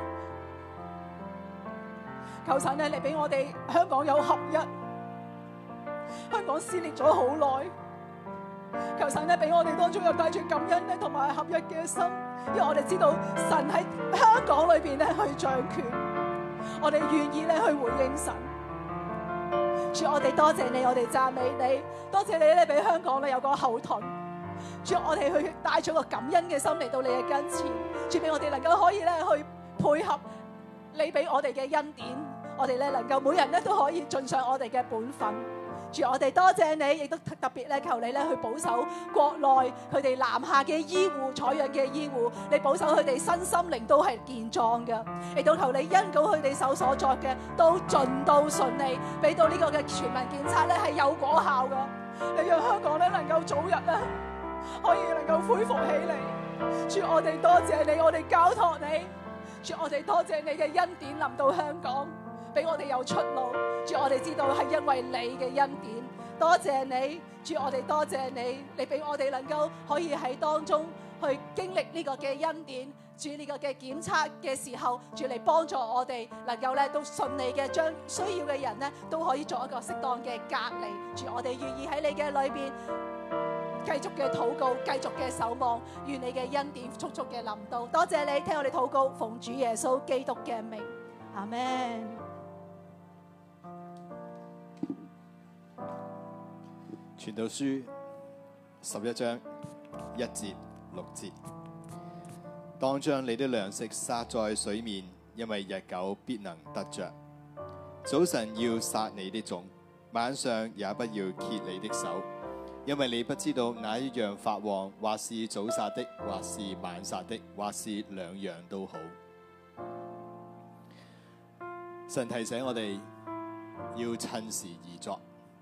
求神咧嚟俾我哋香港有合一，香港撕裂咗好耐。求神咧俾我哋當中有帶住感恩咧同埋合一嘅心。因為我哋知道神喺香港裏邊咧去掌權，我哋願意咧去回應神。主，我哋多謝你，我哋讚美你，多謝你咧俾香港咧有個後盾。主，我哋去帶咗個感恩嘅心嚟到你嘅跟前，主，俾我哋能夠可以咧去配合你俾我哋嘅恩典，我哋咧能夠每人咧都可以盡上我哋嘅本分。主，我哋多謝你，亦都特別咧求你咧去保守國內佢哋南下嘅醫護、採樣嘅醫護，你保守佢哋身心靈都係健壯嘅，亦都求你恩膏佢哋手所作嘅都盡都順利，俾到呢個嘅全民檢測咧係有果效嘅，你讓香港咧能夠早日咧可以能夠恢復起嚟。主，我哋多謝你，我哋交託你。主，我哋多謝你嘅恩典臨到香港，俾我哋有出路。主，我哋知道係因為你嘅恩典，多謝你。主，我哋多謝你，你俾我哋能夠可以喺當中去經歷呢個嘅恩典。主，呢個嘅檢測嘅時候，主嚟幫助我哋能夠咧都順利嘅將需要嘅人咧都可以做一個適當嘅隔離。主，我哋願意喺你嘅裏邊繼續嘅禱告，繼續嘅守望，願你嘅恩典速速嘅臨到。多謝你聽我哋禱告，奉主耶穌基督嘅名，阿們。 傳道書十一章一節六節，當將你的糧食撒在水面，因為日久必能得着。早晨要撒你的種，晚上也不要歇你的手，因為你不知道哪一樣發旺，或是早撒的，或是晚撒的，或是兩樣都好。神提醒我哋要趁時而作。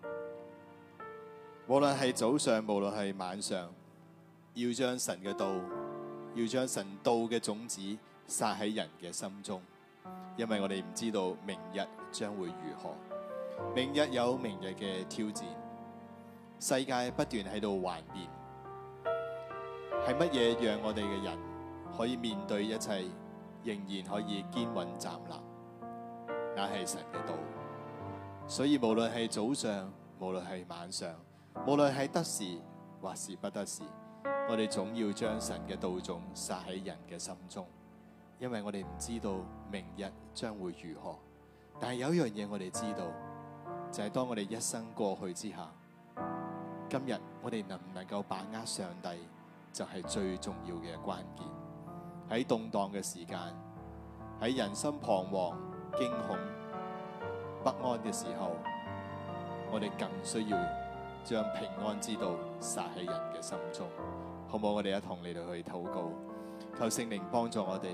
無論係早上，無論係晚上，要將神嘅道，要將神道嘅種子撒喺人嘅心中，因為我哋唔知道明日將會如何，明日有明日嘅挑戰，世界不斷喺度幻變，係乜嘢讓我哋嘅人可以面對一切，仍然可以堅穩站立？那係神嘅道。所以無論係早上，無論係晚上，無論係得時或是不得時，我哋總要將神嘅道種撒喺人嘅心中，因為我哋唔知道明日將會如何。但係有一樣嘢我哋知道，就係當我哋一生過去之下，今日我哋能唔能夠把握上帝，就係最重要嘅關鍵。喺動盪嘅時間，喺人心彷徨、驚恐、不安嘅時候，我哋更需要將平安之道撒喺人嘅心中，好唔好？我哋一同嚟到去禱告，求聖靈幫助我哋，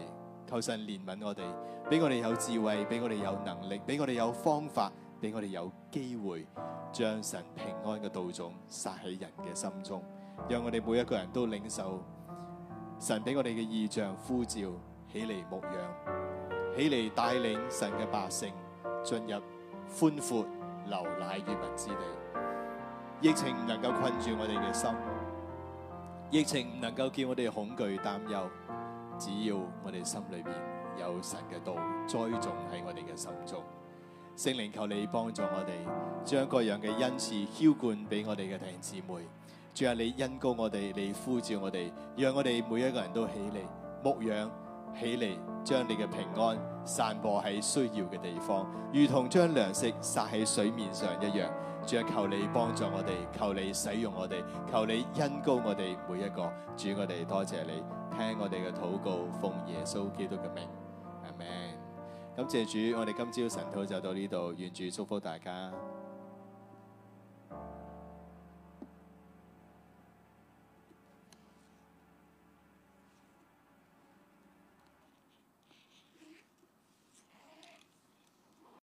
求神憐憫我哋，俾我哋有智慧，俾我哋有能力，俾我哋有方法，俾我哋有機會將神平安嘅道種撒喺人嘅心中，讓我哋每一個人都領受神俾我哋嘅異象呼召，起嚟牧養，起嚟帶領神嘅百姓進入寬闊流奶與蜜之地。疫情唔能夠困住我哋嘅心，疫情唔能夠叫我哋恐懼擔憂，只要我哋心裏邊有神嘅道栽種喺我哋嘅心中。聖靈，求你幫助我哋，將各樣嘅恩賜澆灌俾我哋嘅弟兄姊妹。主啊，你恩膏我哋，你呼召我哋，讓我哋每一個人都起嚟牧養，起嚟將你嘅平安散播喺需要嘅地方，如同將糧食撒喺水面上一樣。主啊，求你幫助我哋，求你使用我哋，求你恩膏我哋每一個。主，我哋多謝你，聽我哋嘅禱告，奉耶穌基督嘅名，阿們。感謝主，我哋今朝晨禱就到呢度，願主祝福大家。